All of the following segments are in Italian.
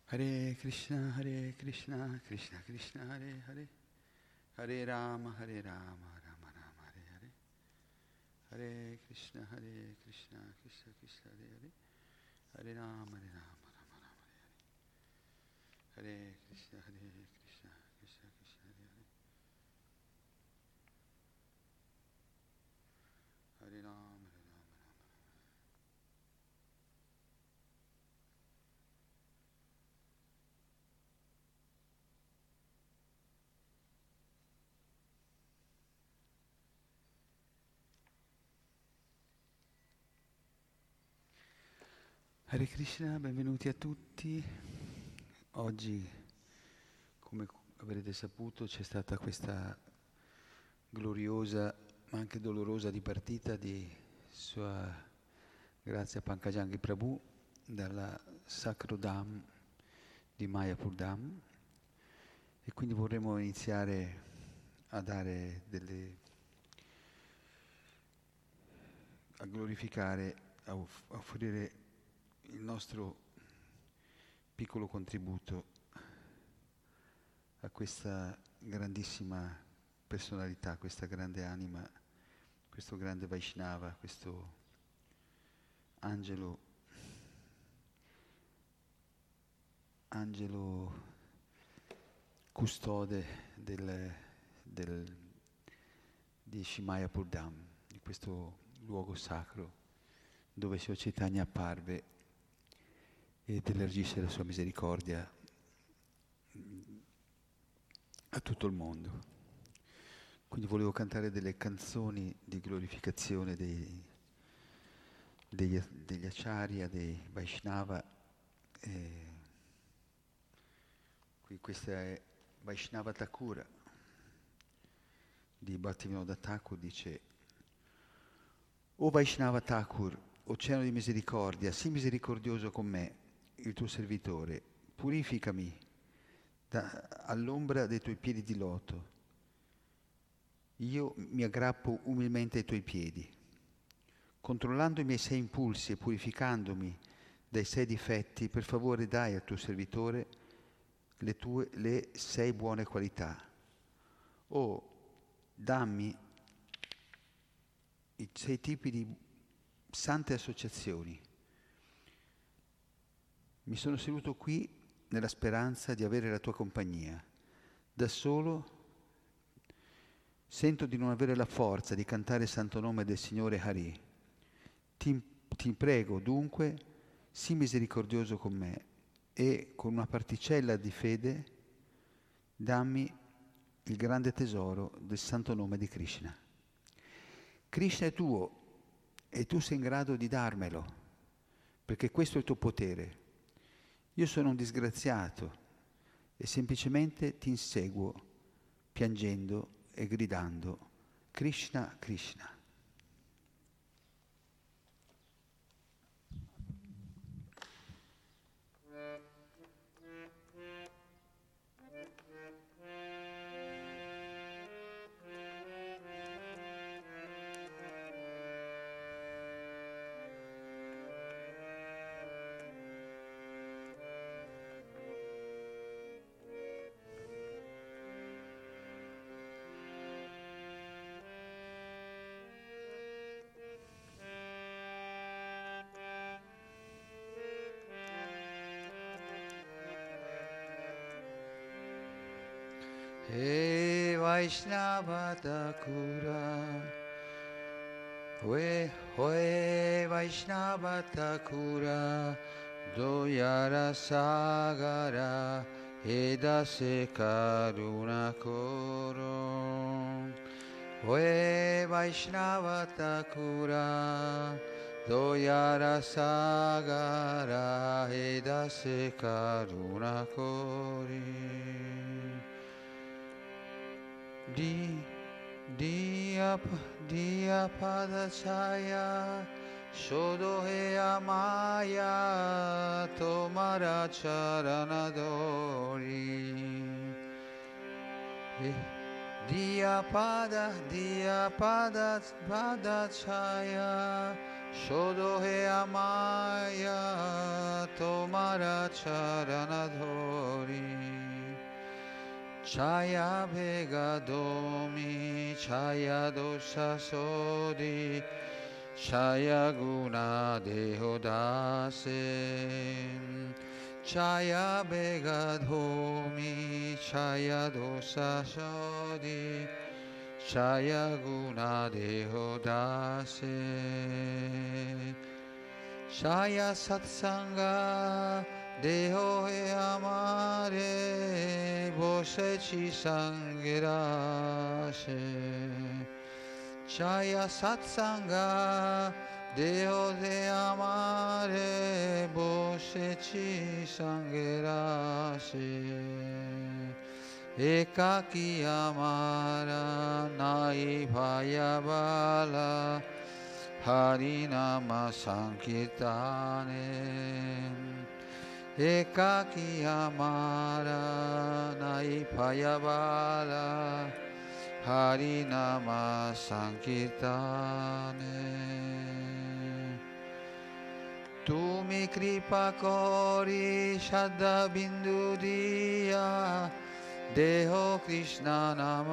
Hare Krishna, Krishna Krishna, Hare Hare, Hare Rama, Rama Rama, Hare Hare, Hare Krishna, Krishna Krishna, Hare Hare, Hare Rama, Rama Rama, Hare Hare, Hare Krishna, Krishna Krishna, Hare Hare, Hare Rama. Hare Krishna, benvenuti a tutti. Oggi, come avrete saputo, c'è stata questa gloriosa ma anche dolorosa dipartita di Sua Grazia Pankajangi Prabhu dal Sacro Dham di Mayapur Dham, e quindi vorremmo iniziare a glorificare, a offrire il nostro piccolo contributo a questa grandissima personalità, questa grande anima, questo grande Vaishnava, questo angelo custode di Mayapur Dham, di questo luogo sacro dove Sua Chaitanya apparve ed elargisce la sua misericordia a tutto il mondo. Quindi volevo cantare delle canzoni di glorificazione degli Acharya, dei Vaishnava. Qui questa è Vaishnava Thakura di Bhaktivinoda Thakur, dice: O Vaishnava Thakur, oceano di misericordia, sii misericordioso con me, il tuo servitore, purificami all'ombra dei tuoi piedi di loto. Io mi aggrappo umilmente ai tuoi piedi. Controllando i miei 6 impulsi e purificandomi dai 6 difetti, per favore dai al tuo servitore le 6 buone qualità. O dammi i 6 tipi di sante associazioni. Mi sono seduto qui nella speranza di avere la tua compagnia. Da solo sento di non avere la forza di cantare il santo nome del Signore Hari. Ti prego dunque, sii misericordioso con me e con una particella di fede dammi il grande tesoro del santo nome di Krishna. Krishna è tuo e tu sei in grado di darmelo, perché questo è il tuo potere. Io sono un disgraziato e semplicemente ti inseguo piangendo e gridando Krishna, Krishna. He Vaishnava Thakura, He Vaishnava Thakura, Doyara Sagara, Edase Karuna Koro. He Vaishnava Thakura, Doyara Sagara, Edase Karuna Kori. Dia Padachaya, Shodohe Amaya, Tomara Charanadori. Dia Padachaya, Shodohe Amaya, Tomara Charanadori. Chaya Begadomi, Chaya Dosha Sodi, Chaya Guna Dehodase, Chaya Begadomi, Chaya Dosha Sodi, Chaya Guna Dehodase, Chaya Satsanga, Deho e amare, Bose ci sangherasce. Chaya Satsanga, Deho de amare, Bose ci sangherasce. Ekaki amara, nai bhayabala, Harinama Sankirtane. Ekaki amara nai payabala, Harinama Sankirtane. Tu mi kripa kori Shraddha bindu diya, Deho Krishna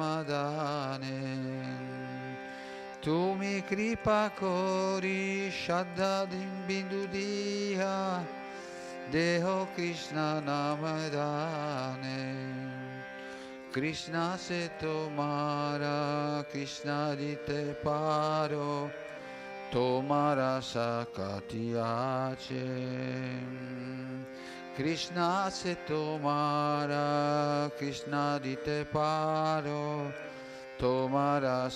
namadane. Tu mi kripa kori Shraddha bindu diya, Deho Krishna namadane. Krishna se tomara, Krishna dite paro, tomara sakatiace. Krishna se tomara, Krishna dite paro, tomara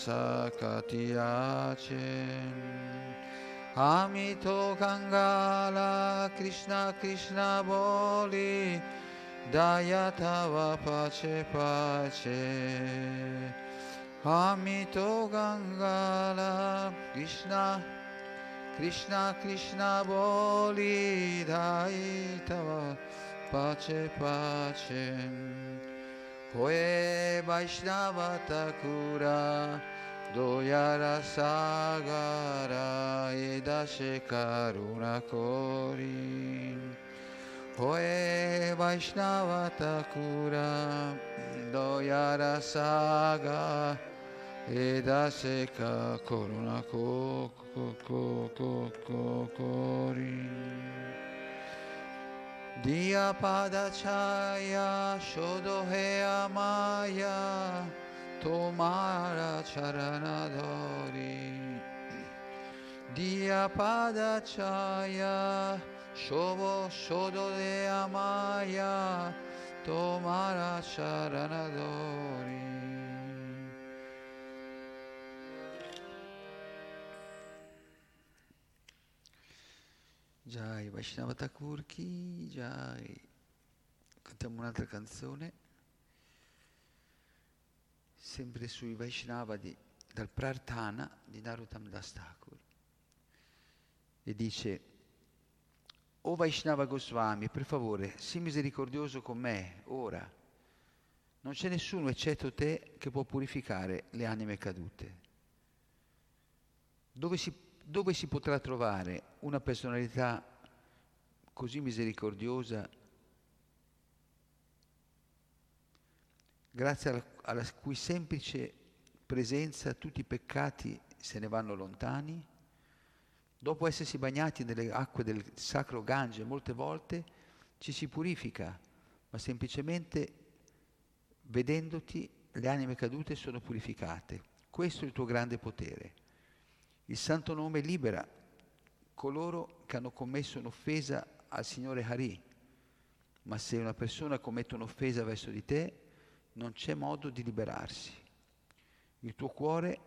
sakatiace. Amito Gangala, Krishna Krishna boli, Daya tava pace pace. Amito Gangala, Krishna Krishna Krishna boli, Daya tava pace pace. Oe Vaishnava Thakura, Doyara Sagara Edashe Karuna Kori. Oe Vaishnava Thakura, Doyara Saga Edashe Karuna Kori. Diya Padachaya Shodohe Amaya, Tomara Charanadori. Diya Padachaya Shodo de Amaya, Tomara Charanadori. Jai Vaishnava Thakur ki Jai. Cantiamo un'altra canzone, sempre sui Vaishnava dal Prarthana di Narottam Das Thakur. E dice: O Vaishnava Goswami, per favore, sii misericordioso con me, ora. Non c'è nessuno eccetto te che può purificare le anime cadute. Dove si potrà trovare una personalità così misericordiosa, grazie alla cui semplice presenza tutti i peccati se ne vanno lontani? Dopo essersi bagnati nelle acque del sacro Gange molte volte, ci si purifica, ma semplicemente vedendoti le anime cadute sono purificate. Questo è il tuo grande potere. Il santo nome libera coloro che hanno commesso un'offesa al Signore Hari, ma se una persona commette un'offesa verso di te, non c'è modo di liberarsi. Il tuo cuore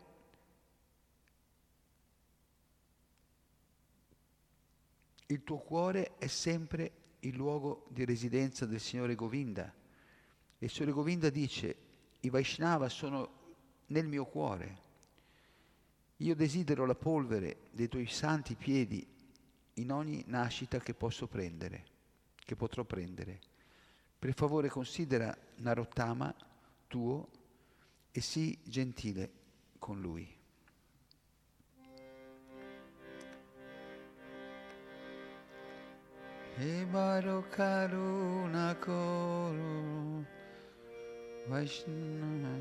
è sempre il luogo di residenza del Signore Govinda. E il Signore Govinda dice: i Vaishnava sono nel mio cuore. Io desidero la polvere dei tuoi santi piedi in ogni nascita che potrò prendere. Per favore considera Narottama tuo e sii gentile con lui. E baro karuna koro Vaishnava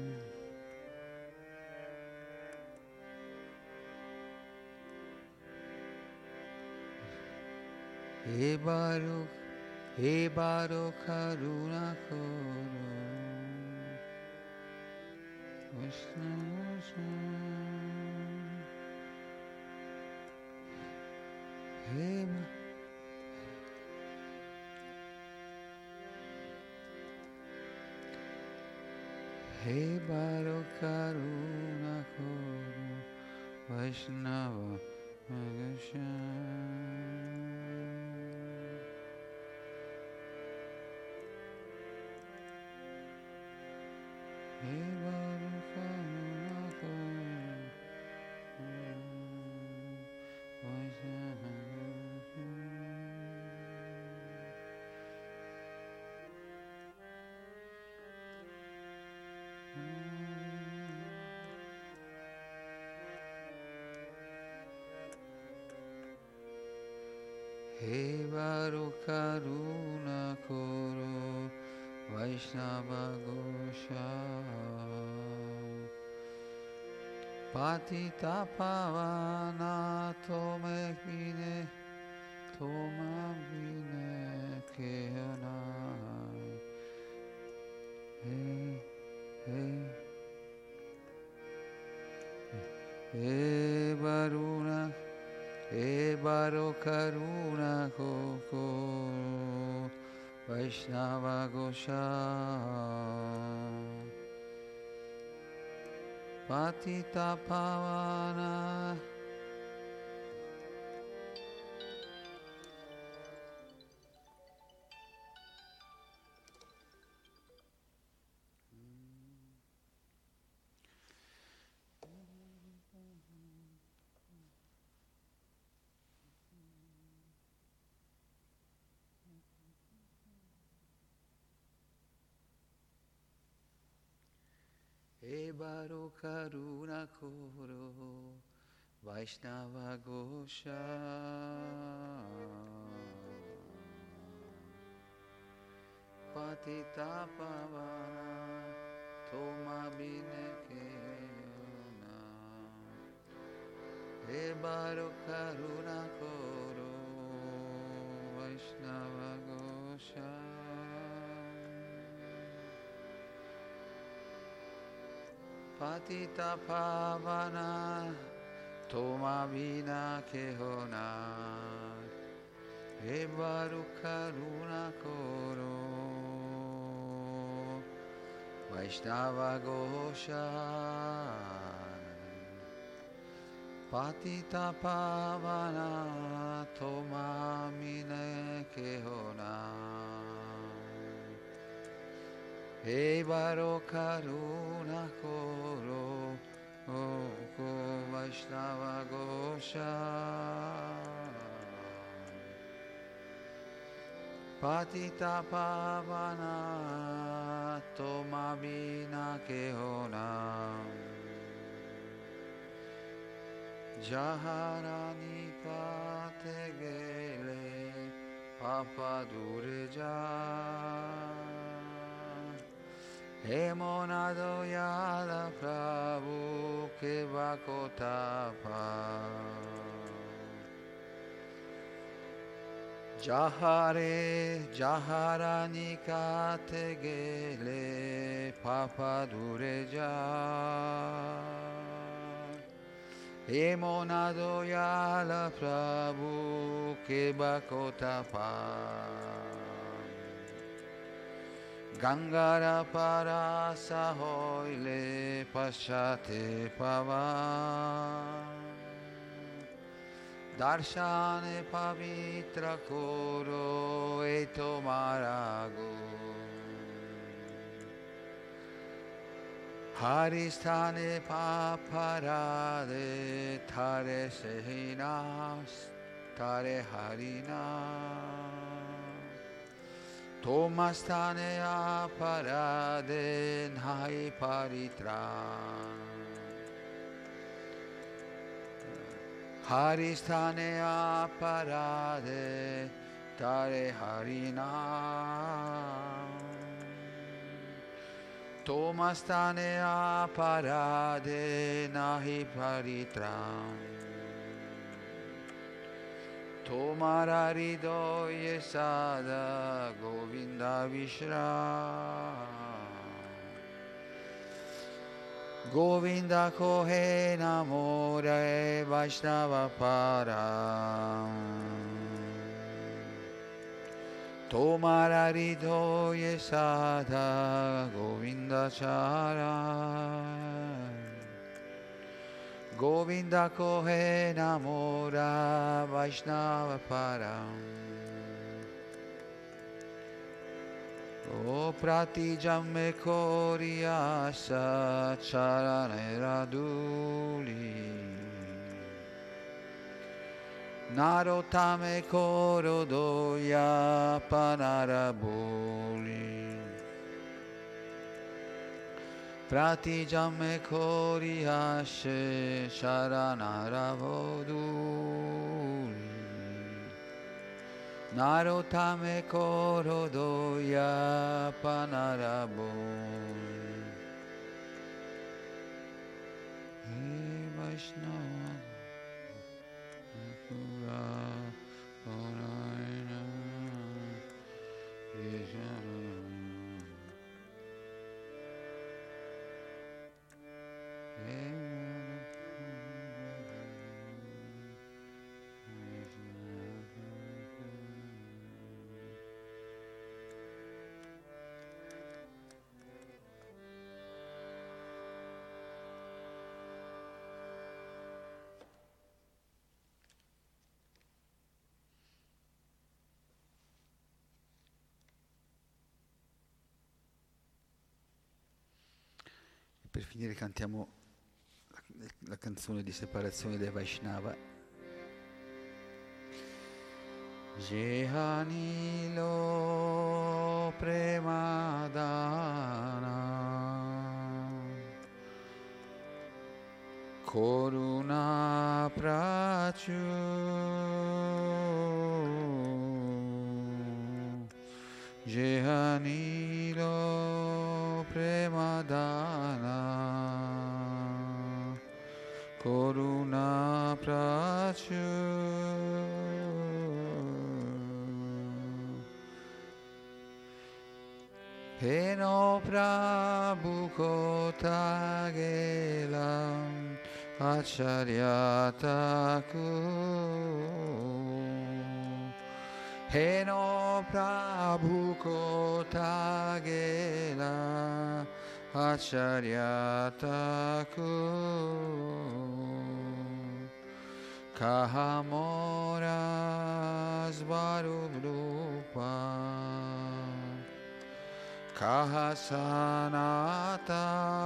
He Baruch Karuna Koro Vaishnava He Baruch Karuna Koro Vaishnava He Baruch Karuna Koro Vaishnava Gosha Patita Pavana Tomekine Tomabine Kehana He Baruna He Baruch Karuna Koko Vaishnava Gosha Patita Pavana He Baruch Karuna Koro Vaishnava Gosha Patita Pavana Tomabine Kehana He Baruch Karuna Koro Vaishnava Gosha Patita Pavana Tomabina Kehona He Baruch Karuna Koro Vaishnava Gosha Patita Pavana Tomabina Kehona He Baruch Karuna Koro Vaishnava Gosha Patita Pavana Tomabina Kehona Jaharani Pategele Papa Dureja He Monado Yada Prabhu Kevakotapa Jaharani Kategele Papa Dureja He Monado Yada Prabhu Kevakotapa Gangara Parasa Hoile Pashate Pavan Darshane Pavitra Koro Eto Marago Haristane Paparade Tare Sehinas Tare Harina Tomastane aparade nai paritra Haristane aparade tare harina Tomastane aparade nahi paritram. Tomara ridoye sada Govinda Vishram. Govinda kohe namore Vaishnava param. Tomara ridoye sada Govinda charan. Govinda kohe namora Vaishnava param. O pratijam me koriasa charane raduli. Narotame korodoya panaraboli. Pratijam me koriashe sharanaravoduli. Narotame korodoya panaraboli. Hey Vaishnava Pura Parayana Yeshana. Per finire cantiamo la canzone di separazione dei Vaishnava. Jehanilo premadana Koruna prachu Jehanilo premadana Koruna prachu Heno Prabhu Kotagelam Acharya Thakur. Heno Prabhu Kotagelam Acharya Thakur. Kahamora Svarupa Kahasanata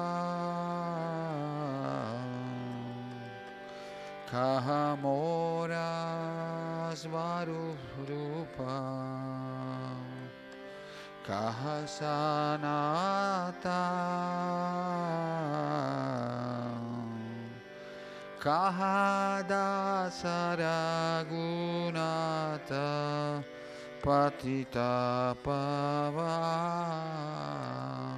Kahamora Svarupa Kahasanata Kahadasaragunata Patita pavam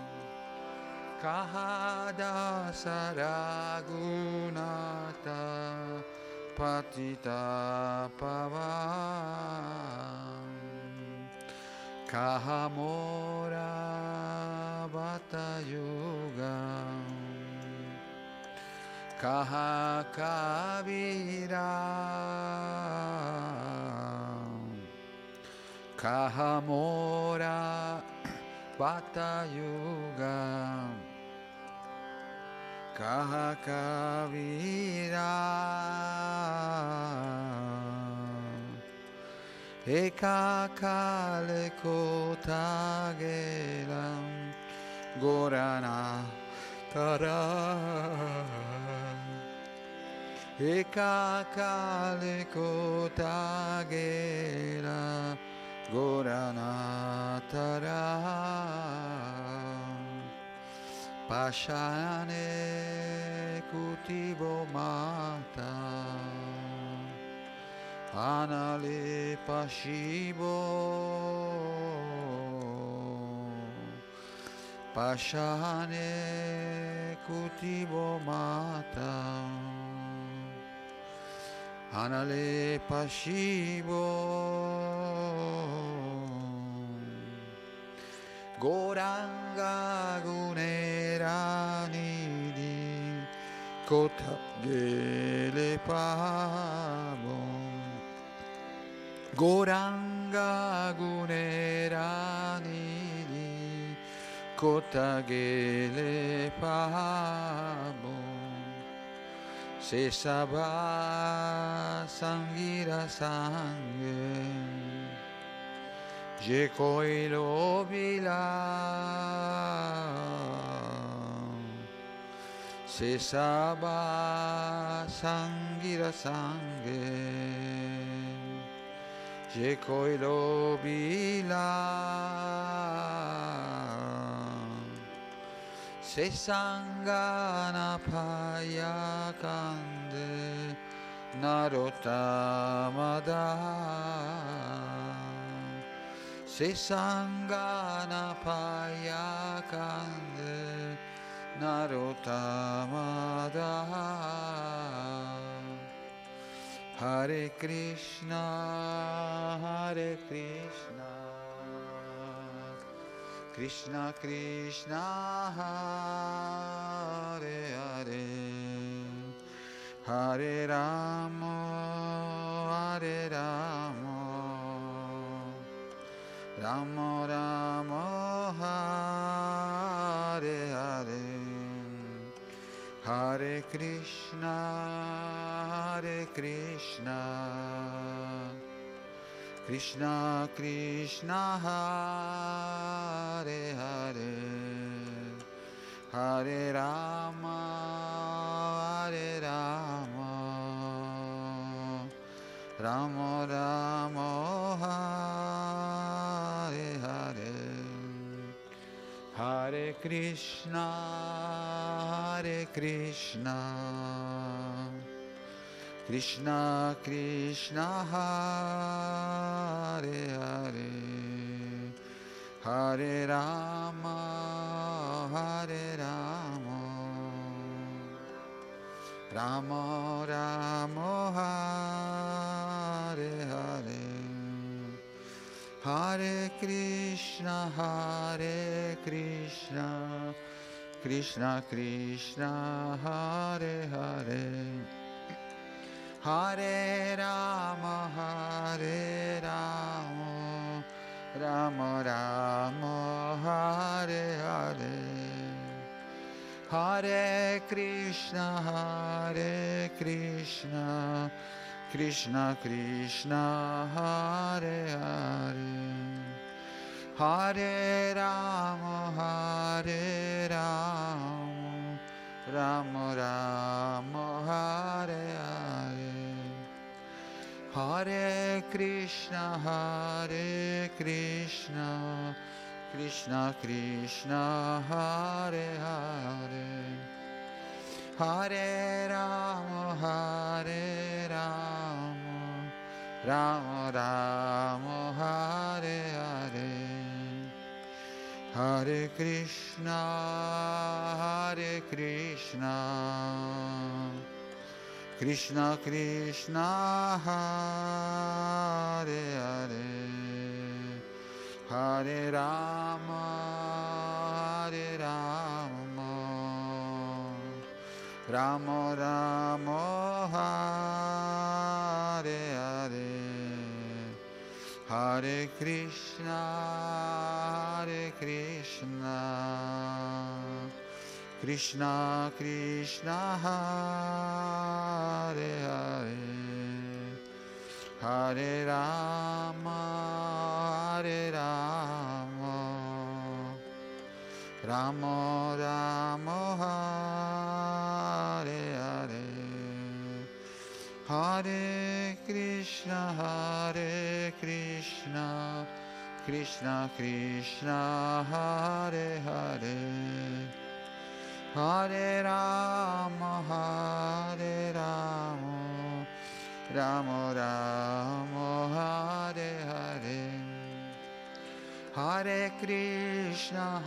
Kahadasaragunata Patita pavam Kahamora Vatayugam Kahakavira Kahamora Vatayuga Kahakavira Ekakale Kotageram Gorana Tara Ekakale Kotagera Goranatara Pashane Kutibo Mata Anale Pashibo Pashane kutibo mata Anale pashibo Goranga guneranidi Kota gele pabo Goranga guneranidi Kota gele pabo Se sabah sangira sangue Je koi lo bila Se sabah sangira sangue Je koi lo bila Se sangana paya kande narotamada Se sangana paya kande narotamada Hare Krishna Krishna Krishna Hare Hare Hare Rama Rama Rama Hare Hare Hare Krishna Krishna Krishna Hare Hare Hare Rama Rama Rama Hare Hare Hare Krishna Krishna Krishna Hare Hare Hare Rama Rama Rama Hare Hare Hare Krishna Krishna Krishna Hare Hare Hare Rama Rama Rama Hare Hare Hare Krishna Krishna Krishna Hare Hare Hare Rama Rama Rama Hare Hare Hare Krishna Krishna Krishna Hare Hare Hare Rama Rama Rama Hare Hare Hare Krishna Krishna Krishna Hare Hare Hare Rama Rama Rama Hare Hare Hare Krishna Krishna Krishna Hare Hare Hare Rama Rama Rama Hare Hare Hare Krishna Krishna Krishna Hare Hare Hare Rama Rama Rama Hare Hare Hare Krishna,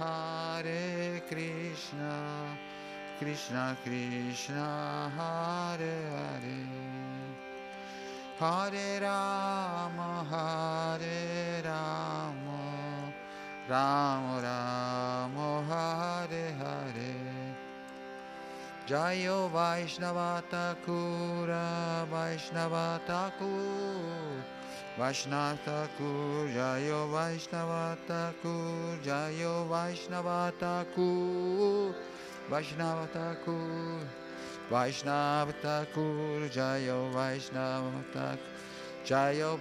Krishna Krishna, Hare Hare, Hare Rama, Rama Rama, Hare Hare. Jayo Vaishnava Thakura, Vaishnava Thakur, Vaishnava Thakur, Jayo Vaishnava Thakur, Jayo Vaishnava Thakur, Vaishnava Thakur, Vaishnava Thakur, Jayo Vaishnava Thakur, Jayo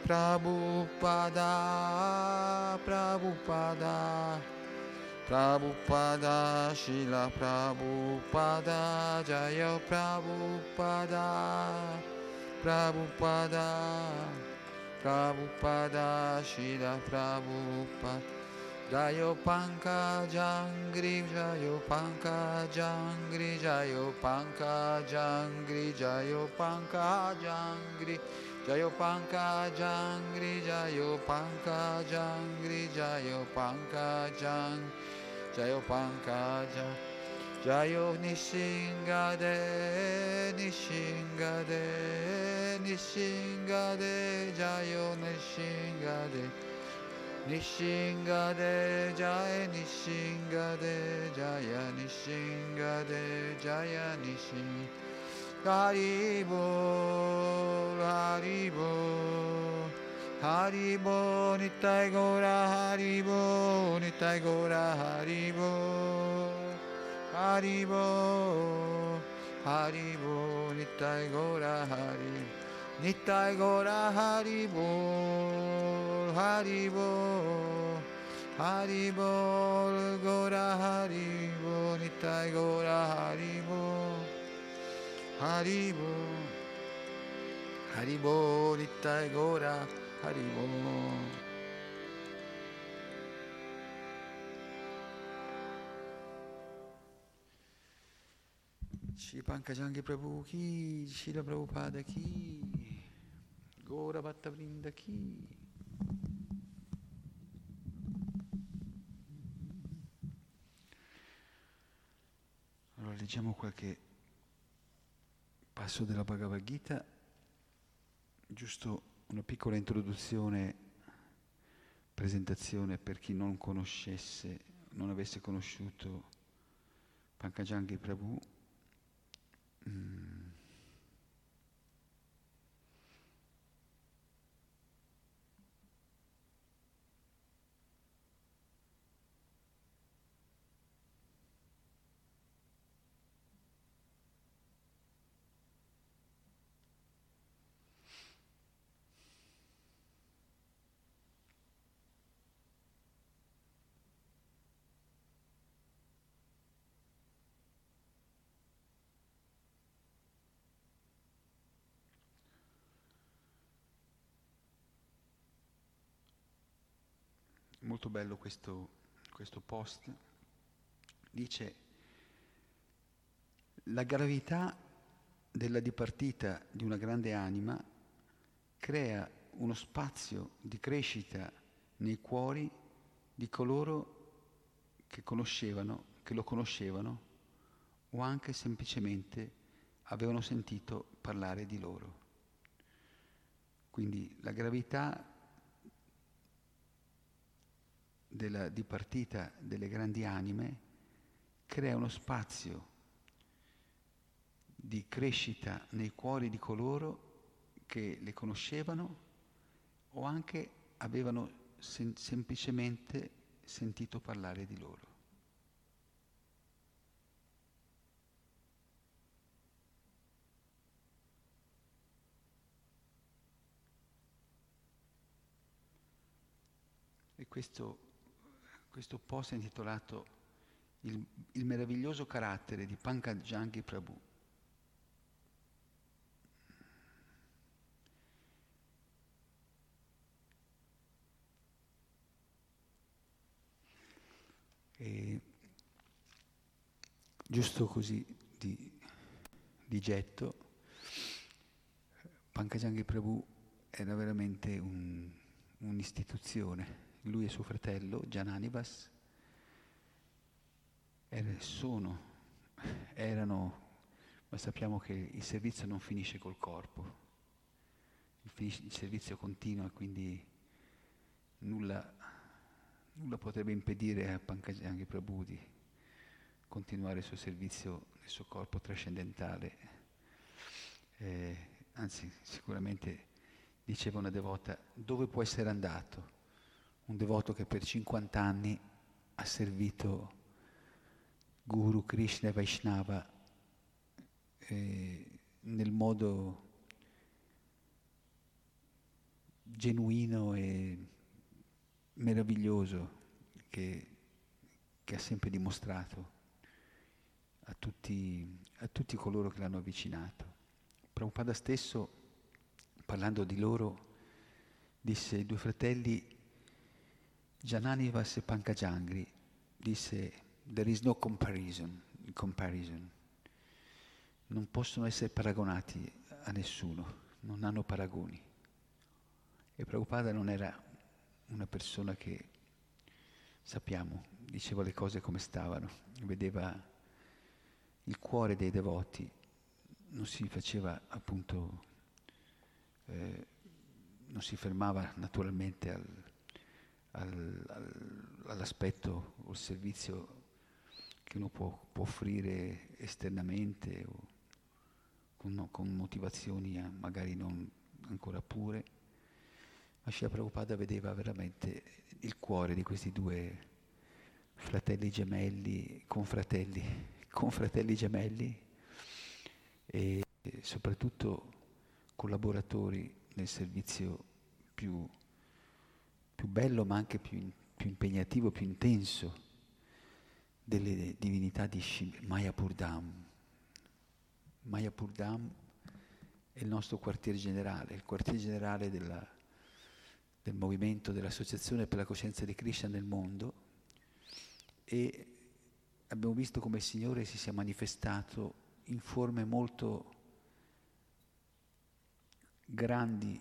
Prabhupada, Prabhupada, Prabhupada, Srila Prabhupada, Jaya Prabhupada, Prabhupada, Prabhupada, Srila Prabhupada, Jayo Pankajangri, Jayo Pankajangri, Jayo Pankajangri, Jayo Pankajangri, Jayo Pankajangri, Jayo Pankajangri, Jayo Pankajangri, Jayo Pankaja, Jayo Nishingade, Nishingade, Nishingade, Jayo Nishingade, Nishingade, Jaya Nishingade, Jaya Nishingade, Jaya Nishingade, Haribol, Haribol, Haribol, Nitai Gora, Haribol, Nitai Gora, Haribol, Haribol, Haribol, Nitai Gora, Haribol, Nitai Gora, Haribol, Haribol, Haribol, Gora, Haribol, Nitai Gora, Haribol, Haribol, Haribol, Nitai Gora, Haribol. Shri Pankajangi Prabhu ki, Shri Prabhupada ki, Gora Bhatta Vrinda ki. Allora leggiamo qualche passo della Bhagavad Gita, giusto una piccola introduzione, presentazione per chi non conoscesse, non avesse conosciuto Pankajangi Prabhu. Molto bello questo post. Dice: la gravità della dipartita di una grande anima crea uno spazio di crescita nei cuori di coloro che lo conoscevano o anche semplicemente avevano sentito parlare di loro. Quindi la gravità della dipartita delle grandi anime crea uno spazio di crescita nei cuori di coloro che le conoscevano o anche avevano semplicemente sentito parlare di loro. E questo post è intitolato il meraviglioso carattere di Pankajangi Prabhu. E giusto così di getto, Pankajangi Prabhu era veramente un'istituzione, lui e suo fratello, Jananivas, erano, ma sappiamo che il servizio non finisce col corpo, il servizio continua, quindi nulla potrebbe impedire a Pankajanga Prabhu di continuare il suo servizio nel suo corpo trascendentale. Anzi, sicuramente diceva una devota, dove può essere andato? Un devoto che per 50 anni ha servito Guru, Krishna e Vaishnava nel modo genuino e meraviglioso che ha sempre dimostrato a tutti coloro che l'hanno avvicinato. Prabhupada stesso, parlando di loro, disse ai due fratelli Jananivas e Pankajangri, disse there is no comparison. Non possono essere paragonati a nessuno, non hanno paragoni. E Prabhupada non era una persona che, sappiamo, diceva le cose come stavano, vedeva il cuore dei devoti, non si faceva appunto, non si fermava naturalmente all'aspetto o al servizio che uno può offrire esternamente o con motivazioni magari non ancora pure. Ma Srila Prabhupada vedeva veramente il cuore di questi due fratelli gemelli, confratelli gemelli e soprattutto collaboratori nel servizio più bello ma anche più impegnativo, più intenso delle divinità di Mayapur Dham. Mayapur Dham è il nostro quartier generale, il quartier generale del movimento dell'Associazione per la Coscienza di Krishna nel mondo, e abbiamo visto come il Signore si sia manifestato in forme molto grandi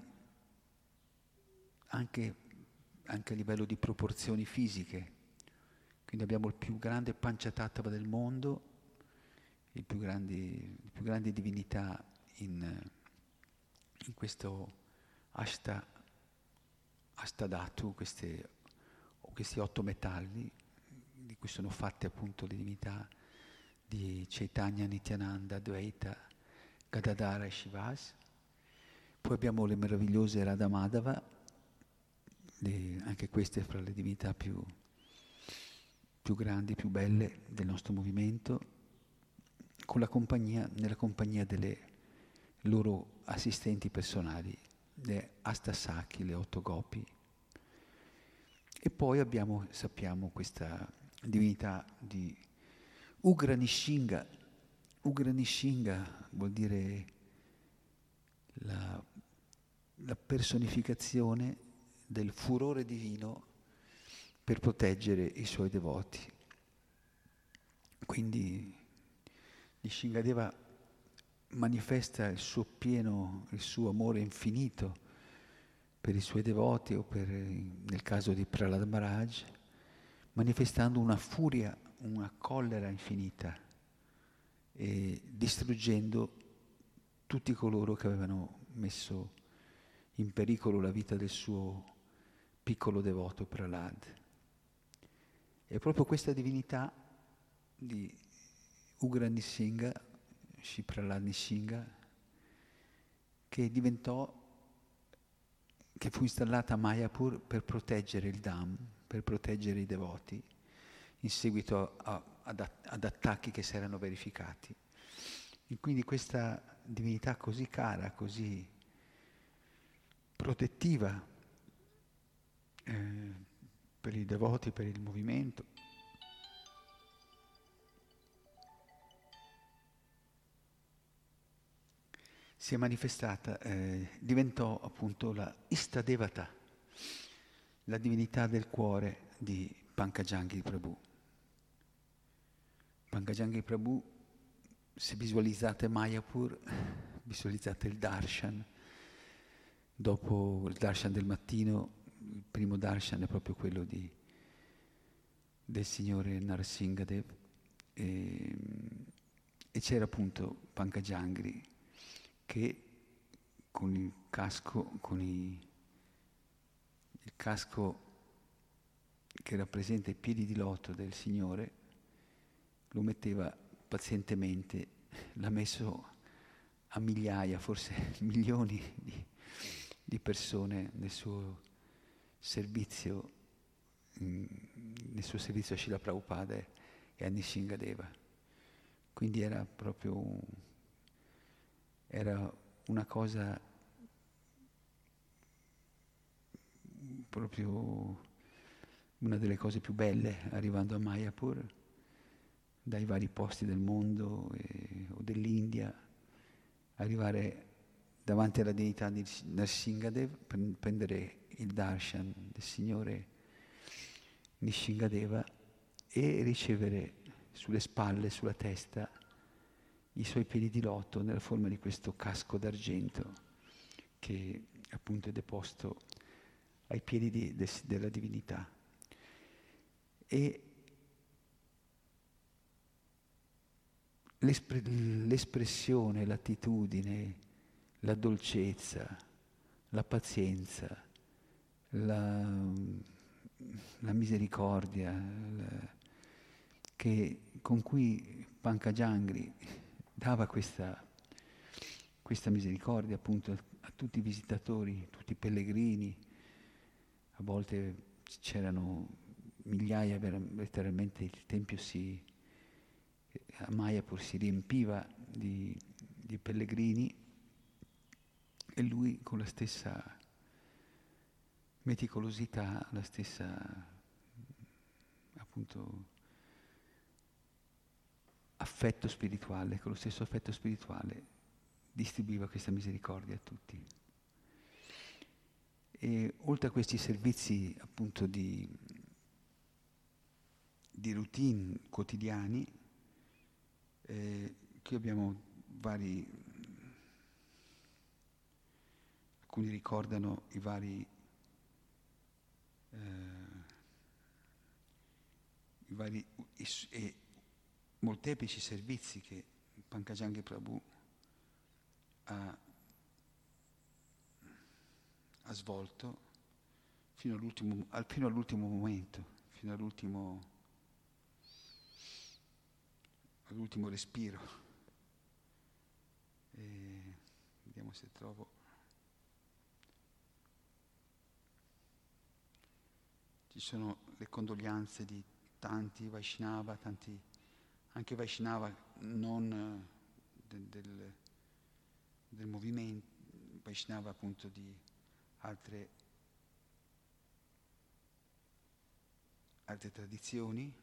anche a livello di proporzioni fisiche. Quindi abbiamo il più grande Panchatattva del mondo, le più grandi divinità in questo Ashtadhatu, questi 8 metalli, di cui sono fatte appunto le divinità di Chaitanya, Nityananda, Advaita, Gadadhara e Shivas. Poi abbiamo le meravigliose Radha Madhava, anche queste fra le divinità più grandi, più belle del nostro movimento, nella compagnia delle loro assistenti personali, le Astasakhi, le 8 gopi. E poi sappiamo questa divinità di Ugra Nishinga. Ugra Nishinga vuol dire la personificazione del furore divino per proteggere i suoi devoti. Quindi Nishingadeva manifesta il suo amore infinito per i suoi devoti o nel caso di Prahlad Maharaj, manifestando una furia, una collera infinita e distruggendo tutti coloro che avevano messo in pericolo la vita del suo piccolo devoto Prahlad. E proprio questa divinità di Ugra Nishinga, Shri Prahlad Nishinga, che fu installata a Mayapur per proteggere il Dham, per proteggere i devoti, in seguito ad attacchi che si erano verificati. E quindi questa divinità così cara, così protettiva per i devoti, per il movimento, si è manifestata, diventò appunto la Istadevata, la divinità del cuore di Pankajanga Prabhu. Pankajanga Prabhu, se visualizzate Mayapur, visualizzate il darshan, dopo il darshan del mattino il primo darshan è proprio quello del signore Narasimhadev, e c'era appunto Pankajangri che con il casco, il casco che rappresenta i piedi di loto del Signore, lo metteva pazientemente, l'ha messo a migliaia, forse milioni di persone nel suo servizio a Srila Prabhupada e a Nishingadeva. Quindi era proprio una cosa proprio una delle cose più belle arrivando a Mayapur, dai vari posti del mondo o dell'India, arrivare davanti alla divinità di Nrsimhadev, prendere il darshan del Signore Nishingadeva e ricevere sulle spalle, sulla testa, i suoi piedi di loto nella forma di questo casco d'argento che appunto è deposto ai piedi della divinità. E l'espressione, l'attitudine, la dolcezza, la pazienza, la misericordia con cui Pankajangri dava questa misericordia appunto a tutti i visitatori, tutti i pellegrini. A volte c'erano migliaia, letteralmente il tempio a Mayapur si riempiva di pellegrini, e lui con la stessa meticolosità, la stessa appunto affetto spirituale, con lo stesso affetto spirituale distribuiva questa misericordia a tutti. E oltre a questi servizi appunto di routine quotidiani, qui abbiamo alcuni ricordano i vari e molteplici servizi che Pankajangri Prabhu ha svolto fino all'ultimo momento, fino all'ultimo respiro. Vediamo se trovo. Ci sono le condoglianze di tanti Vaishnava, anche Vaishnava non del movimento, Vaishnava appunto di altre tradizioni.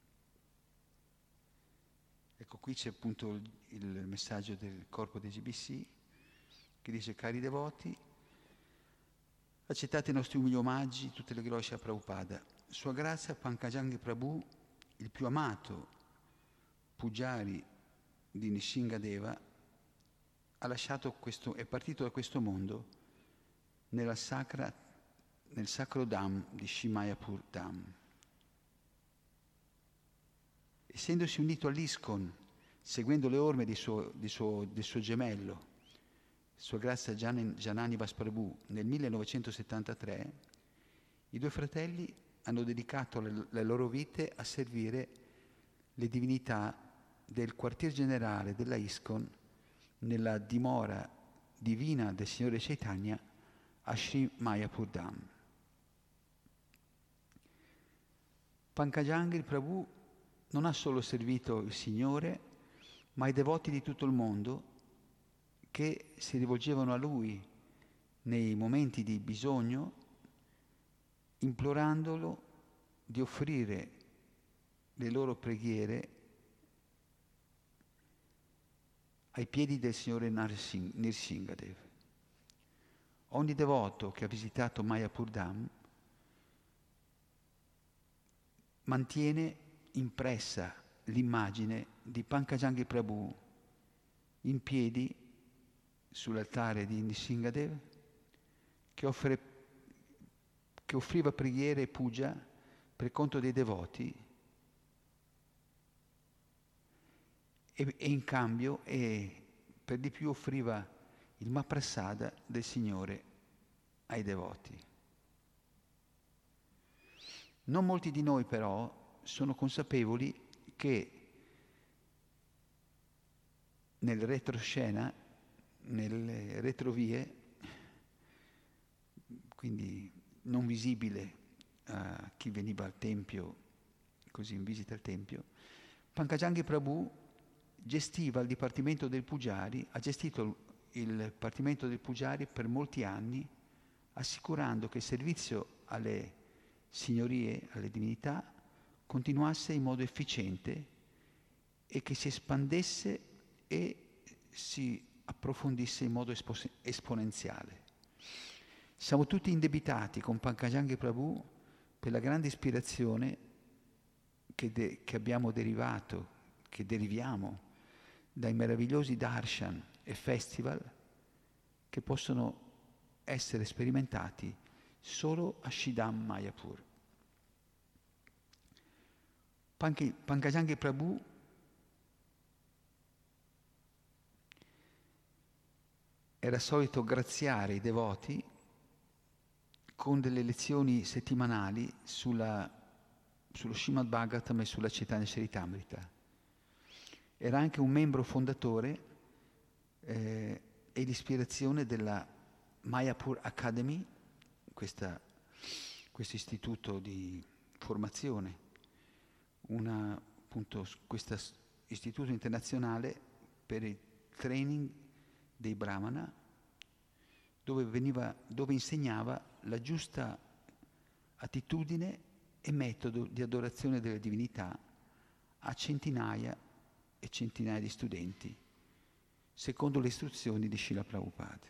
Ecco, qui c'è appunto il messaggio del corpo dei GBC che dice: cari devoti, accettate i nostri umili omaggi, tutte le glorie a Prabhupada. Sua grazia Pankajangri Prabhu, il più amato Pujari di Nishingadeva, è partito da questo mondo nel sacro Dham di Shimayapur Dham. Essendosi unito all'ISKCON, seguendo le orme del suo gemello, Sua Grazia Janani Vasprabhu, nel 1973, i due fratelli hanno dedicato le loro vite a servire le divinità del quartier generale della ISKCON nella dimora divina del Signore Chaitanya a Sri Mayapur Dham. Pankajangri Prabhu non ha solo servito il Signore, ma i devoti di tutto il mondo che si rivolgevano a Lui nei momenti di bisogno, implorandolo di offrire le loro preghiere ai piedi del Signore Nrsimhadev. Ogni devoto che ha visitato Mayapur Dham mantiene impressa l'immagine di Pankajangri Prabhu in piedi sull'altare di Nrsimhadev, che offre che offriva preghiere e puja per conto dei devoti e in cambio per di più offriva il Mahaprasada del Signore ai devoti. Non molti di noi però sono consapevoli che nel retroscena, nelle retrovie, quindi non visibile a chi veniva al Tempio, così in visita al Tempio, Pankajanghi Prabhu gestiva il Dipartimento del Pujari, ha gestito il Dipartimento del Pujari per molti anni, assicurando che il servizio alle signorie, alle divinità, continuasse in modo efficiente e che si espandesse e si approfondisse in modo esponenziale. Siamo tutti indebitati con Pankajanghi Prabhu per la grande ispirazione che abbiamo derivato, che deriviamo dai meravigliosi darshan e festival che possono essere sperimentati solo a Shidam Mayapur. Pankajanghi Prabhu era solito graziare i devoti con delle lezioni settimanali sullo Srimad Bhagavatam e sulla Chaitanya Charitamrita. Era anche un membro fondatore e l'ispirazione della Mayapur Academy, questo istituto di formazione, questo istituto internazionale per il training dei Brahmana, dove insegnava la giusta attitudine e metodo di adorazione delle divinità a centinaia e centinaia di studenti, secondo le istruzioni di Srila Prabhupada.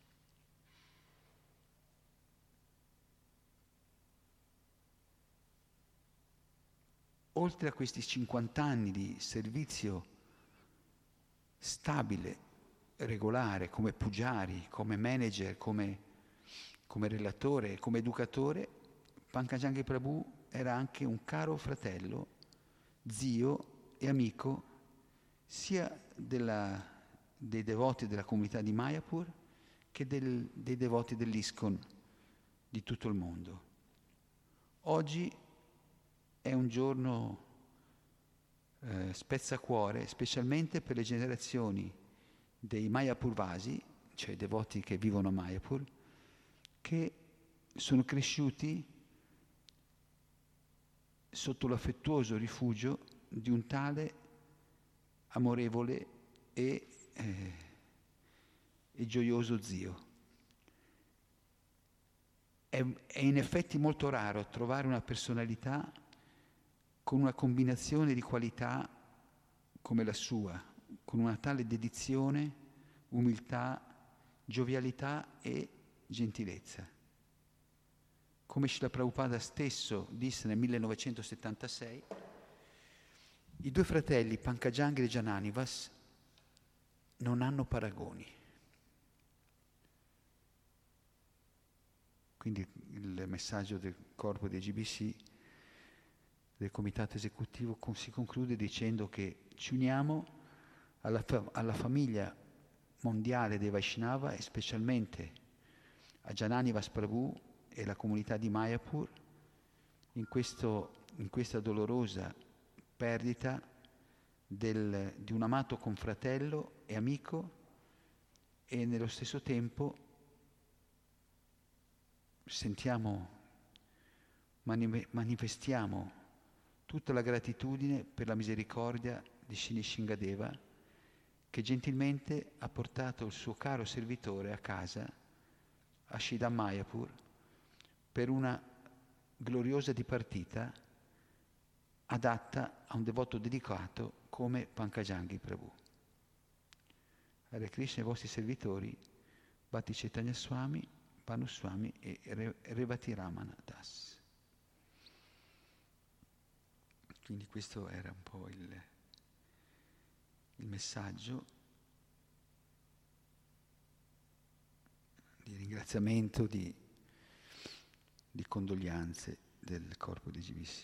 Oltre a questi 50 anni di servizio stabile, regolare, come pujari, come manager, come relatore, come educatore, Pankajanghi Prabhu era anche un caro fratello, zio e amico sia dei devoti della comunità di Mayapur che dei devoti dell'ISKCON di tutto il mondo. Oggi è un giorno spezzacuore, specialmente per le generazioni dei Mayapurvasi, cioè devoti che vivono a Mayapur, che sono cresciuti sotto l'affettuoso rifugio di un tale amorevole e gioioso zio. È in effetti molto raro trovare una personalità con una combinazione di qualità come la sua, con una tale dedizione, umiltà, giovialità e gentilezza. Come Srila Prabhupada stesso disse nel 1976, i due fratelli Pankajanghi e Jananivas non hanno paragoni. Quindi il messaggio del corpo dei GBC, del comitato esecutivo, si conclude dicendo che ci uniamo alla famiglia mondiale dei Vaishnava e specialmente a Jananivas Prabhu e la comunità di Mayapur in questa dolorosa perdita di un amato confratello e amico, e nello stesso tempo manifestiamo tutta la gratitudine per la misericordia di Shri Nishingadeva, che gentilmente ha portato il suo caro servitore a casa, a Shidam Mayapur, per una gloriosa dipartita adatta a un devoto dedicato come Pankajanghi Prabhu. Hare Krishna, i vostri servitori, Bhakti Chaitanya Swami, Bhanu Swami e Revati Ramana Das. Quindi questo era un po' il messaggio di ringraziamento, di di condoglianze del corpo di GBC.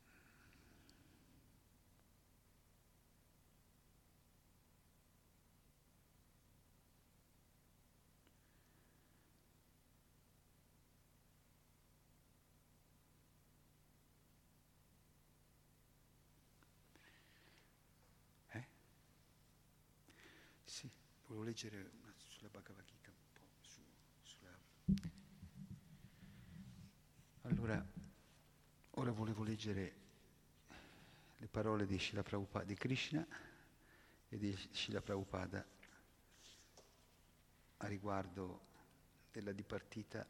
Sì, volevo leggere sulla Bhagavad Gita un po', Allora, ora volevo leggere le parole di Srila Prabhupada, di Krishna e di Srila Prabhupada a riguardo della dipartita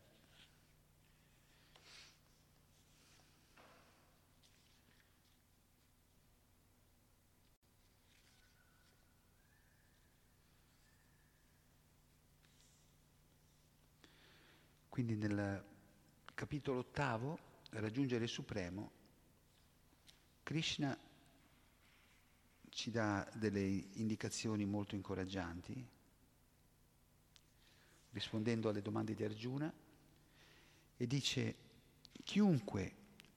Quindi nel capitolo 8, Raggiungere il Supremo, Krishna ci dà delle indicazioni molto incoraggianti, rispondendo alle domande di Arjuna, e dice: chiunque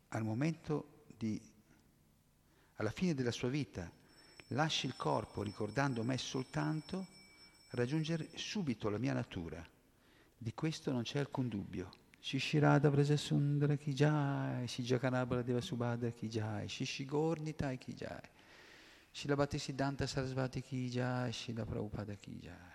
alla fine della sua vita, lasci il corpo ricordando me soltanto, raggiungere subito la mia natura. Di questo non c'è alcun dubbio. Shishirada Vraja Sundara Ki Jai, Shijakanabala Deva Subhadra Ki Jai, Shishigornitai Ki Jai, Srila Bhaktisiddhanta Sarasvati Ki Jai, Srila Prabhupada Ki Jai.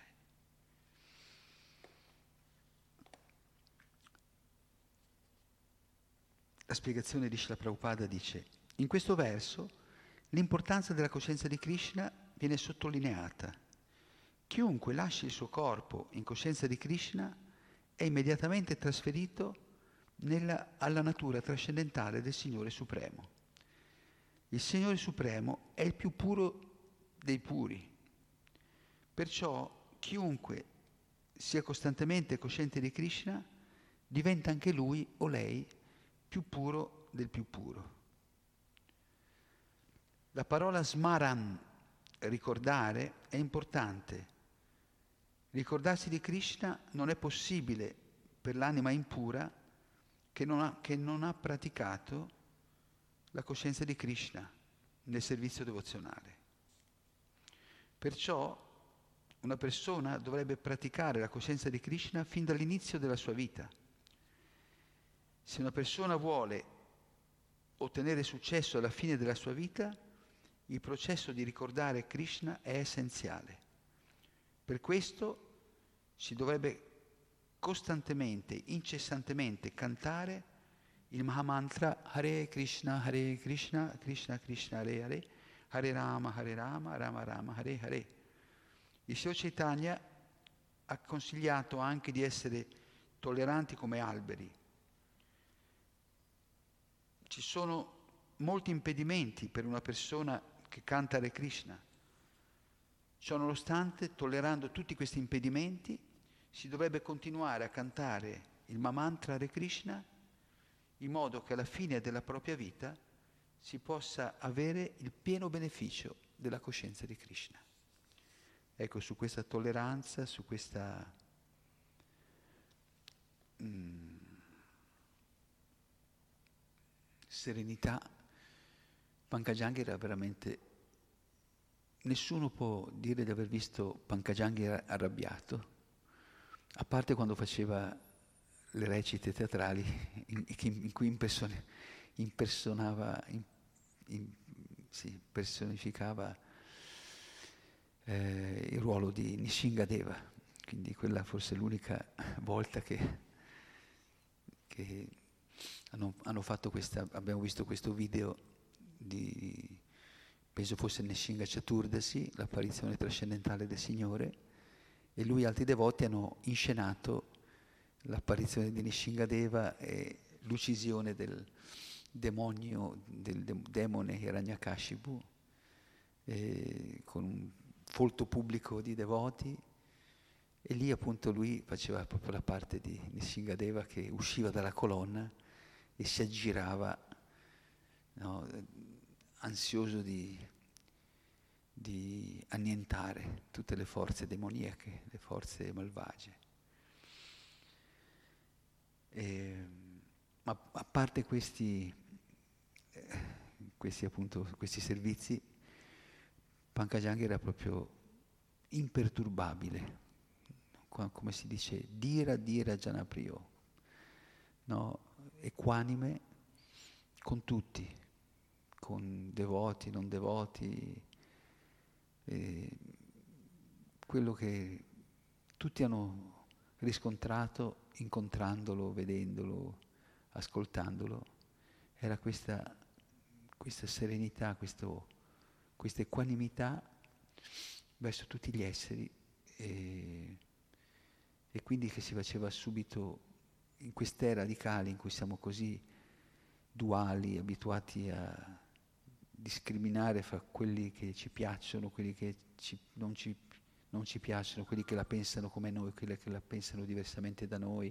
La spiegazione di Srila Prabhupada dice: in questo verso l'importanza della coscienza di Krishna viene sottolineata. Chiunque lasci il suo corpo in coscienza di Krishna è immediatamente trasferito alla natura trascendentale del Signore Supremo. Il Signore Supremo è il più puro dei puri. Perciò chiunque sia costantemente cosciente di Krishna diventa anche lui o lei più puro del più puro. La parola smaran, ricordare, è importante. Ricordarsi di Krishna non è possibile per l'anima impura che non ha praticato la coscienza di Krishna nel servizio devozionale. Perciò una persona dovrebbe praticare la coscienza di Krishna fin dall'inizio della sua vita. Se una persona vuole ottenere successo alla fine della sua vita, il processo di ricordare Krishna è essenziale. Per questo si dovrebbe costantemente, incessantemente cantare il Mahamantra Hare Krishna, Krishna Krishna, Hare Hare, Hare Rama, Rama Rama, Hare Hare. Il Signor Chaitanya ha consigliato anche di essere tolleranti come alberi. Ci sono molti impedimenti per una persona che canta Hare Krishna. Ciononostante, tollerando tutti questi impedimenti, si dovrebbe continuare a cantare il Mahamantra Hare Krishna in modo che alla fine della propria vita si possa avere il pieno beneficio della coscienza di Krishna. Ecco, su questa tolleranza, su questa serenità, Pankajanga era veramente... Nessuno può dire di aver visto Pankajanga arrabbiato, a parte quando faceva le recite teatrali in cui personificava il ruolo di Nishingadeva. Quindi quella forse è l'unica volta che hanno fatto abbiamo visto questo video penso fosse Nishinga Chaturdasi, l'apparizione trascendentale del Signore, e lui e altri devoti hanno inscenato l'apparizione di Nishingadeva e l'uccisione del demone Hiranyakashipu, con un folto pubblico di devoti, e lì appunto lui faceva proprio la parte di Nishingadeva che usciva dalla colonna e si aggirava, no, ansioso di annientare tutte le forze demoniache, le forze malvagie. Ma a parte questi servizi, Pankajang era proprio imperturbabile, come si dice, Dira Dira Janapriyo, no? Equanime con tutti, con devoti, non devoti, eh, quello che tutti hanno riscontrato incontrandolo, vedendolo, ascoltandolo, era questa serenità, questa equanimità verso tutti gli esseri e quindi che si faceva subito in quest'era radicale in cui siamo così duali, abituati a discriminare fra quelli che ci piacciono, quelli che non ci piacciono, quelli che la pensano come noi, quelli che la pensano diversamente da noi,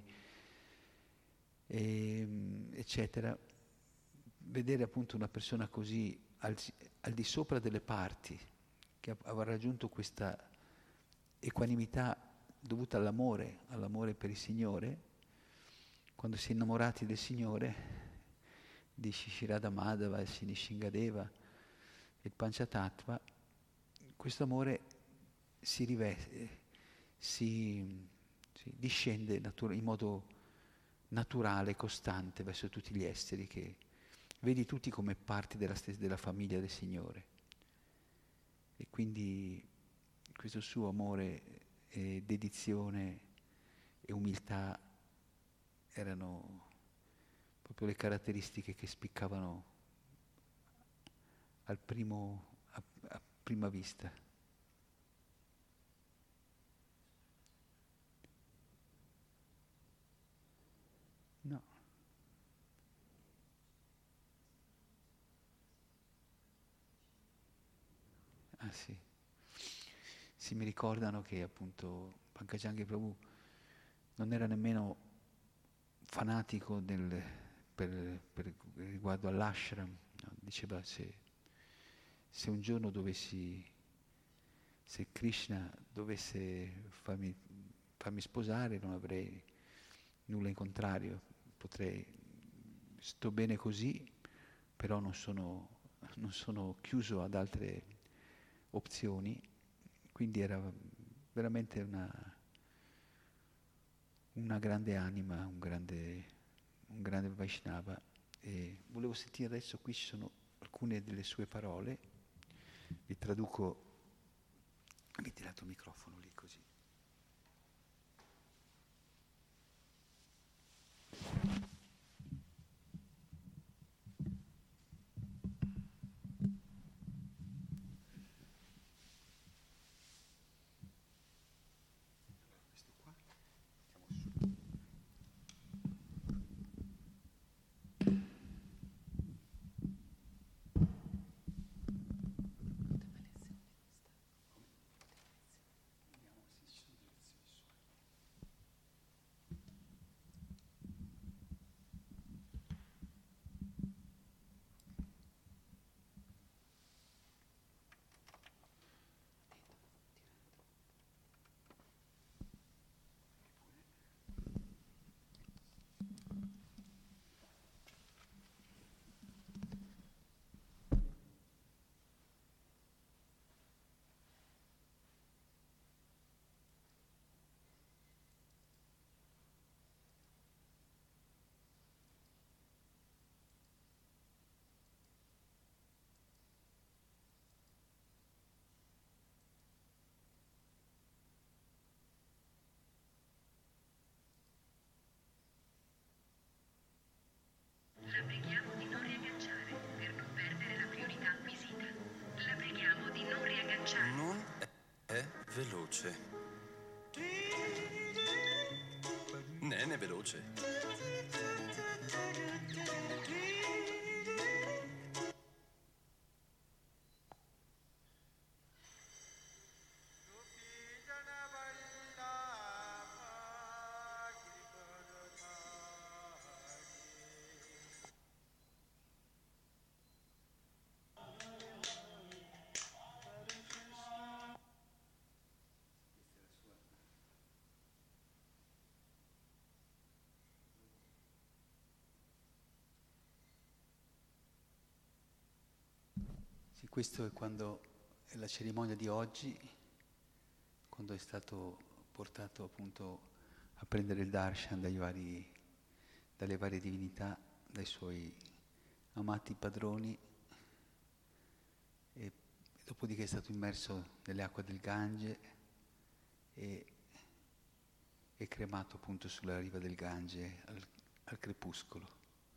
eccetera. Vedere appunto una persona così al di sopra delle parti, che aveva raggiunto questa equanimità dovuta all'amore per il Signore, quando si è innamorati del Signore, di Shishirada Madhava, il Sinishingadeva, il Panchatattva, questo amore si riveste, si discende in modo naturale, costante verso tutti gli esseri che vedi tutti come parti della famiglia del Signore. E quindi questo suo amore e dedizione e umiltà erano proprio le caratteristiche che spiccavano a prima vista. No. Ah sì. Sì, mi ricordano che appunto Pankajang Prabhu non era nemmeno fanatico per riguardo all'ashram, no? Diceva se un giorno se Krishna dovesse farmi sposare non avrei nulla in contrario, sto bene così, però non sono chiuso ad altre opzioni, quindi era veramente una grande anima, un grande Vaishnava. E volevo sentire adesso, qui ci sono alcune delle sue parole, vi traduco, mi hai tirato il microfono lì così. La preghiamo di non riagganciare per non perdere la priorità acquisita. La preghiamo di non riagganciare. Non è veloce. Nene veloce. Sì, questo è quando è la cerimonia di oggi, quando è stato portato appunto a prendere il darshan dalle varie divinità, dai suoi amati padroni, e dopodiché è stato immerso nelle acque del Gange e cremato appunto sulla riva del Gange al crepuscolo.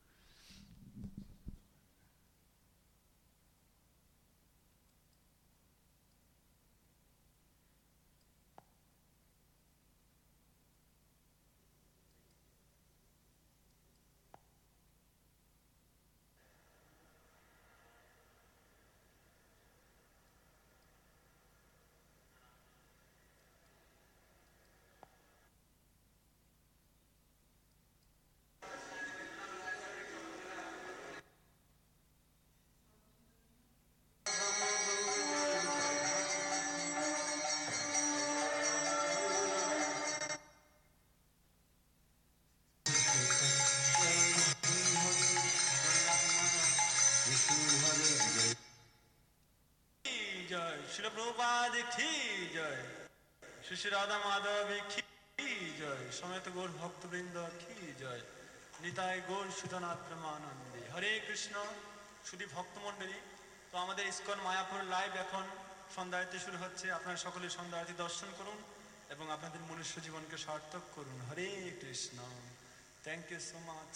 जय श्री प्रभुपाद की जय श्री श्री राधा माधव की जय समेत गौर भक्तवृंद की जय নিতাই গৌর সুতনাথ প্রেমানন্দে হরে কৃষ্ণ শুধু ভক্তমণ্ডলী। তো আমাদের ইসকন মায়াপুর লাইভ এখন সন্ধ্যা আরতি শুরু হচ্ছে। আপনারা সকলে সন্ধ্যা আরতি দর্শন করুন এবং আপনাদের মনুষ্য জীবনকে সার্থক করুন। হরে Krishna. Thank you so much.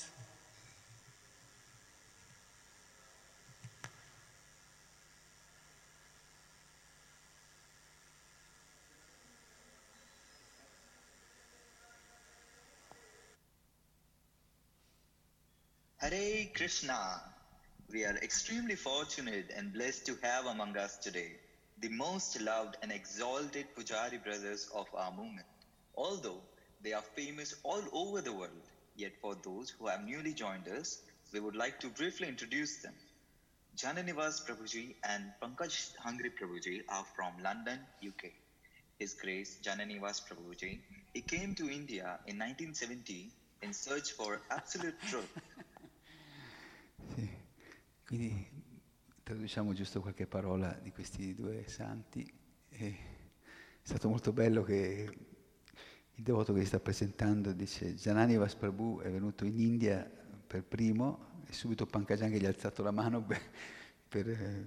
Hare Krishna. We are extremely fortunate and blessed to have among us today the most loved and exalted Pujari brothers of our movement. Although they are famous all over the world, yet for those who have newly joined us, we would like to briefly introduce them. Jananivas Prabhuji and Pankaj Hangri Prabhuji are from London, UK. His Grace Jananivas Prabhuji, he came to India in 1970 in search for absolute truth. Sì. Quindi traduciamo giusto qualche parola di questi due santi. È stato molto bello che il devoto che si sta presentando dice Jananivas Prabhu è venuto in India per primo e subito Pankajang gli ha alzato la mano per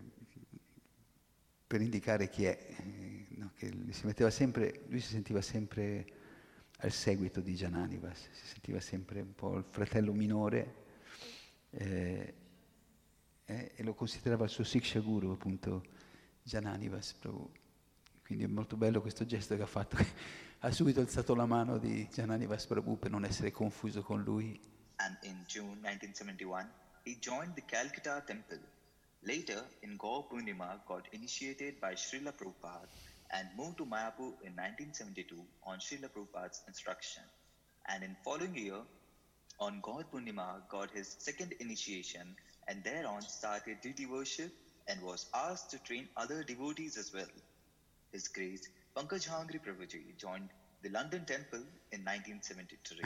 indicare chi è. No, che lui si sentiva sempre al seguito di Jananivas, si sentiva sempre un po' il fratello minore. E lo considerava il suo Siksha Guru, appunto Jananivas Prabhu. Quindi è molto bello questo gesto che ha fatto, che ha subito alzato la mano di Jananivas Prabhu per non essere confuso con lui. And in June 1971, he joined the Calcutta temple. Later, in Gaur Purnima, got initiated by Srila Prabhupada and moved to Mayapur in 1972 on Srila Prabhupada's instruction. And in following year, on Gaur Purnima, got his second initiation and thereon started deity worship and was asked to train other devotees as well. His Grace Pankaj Hangri Prabhuji joined the London Temple in 1973.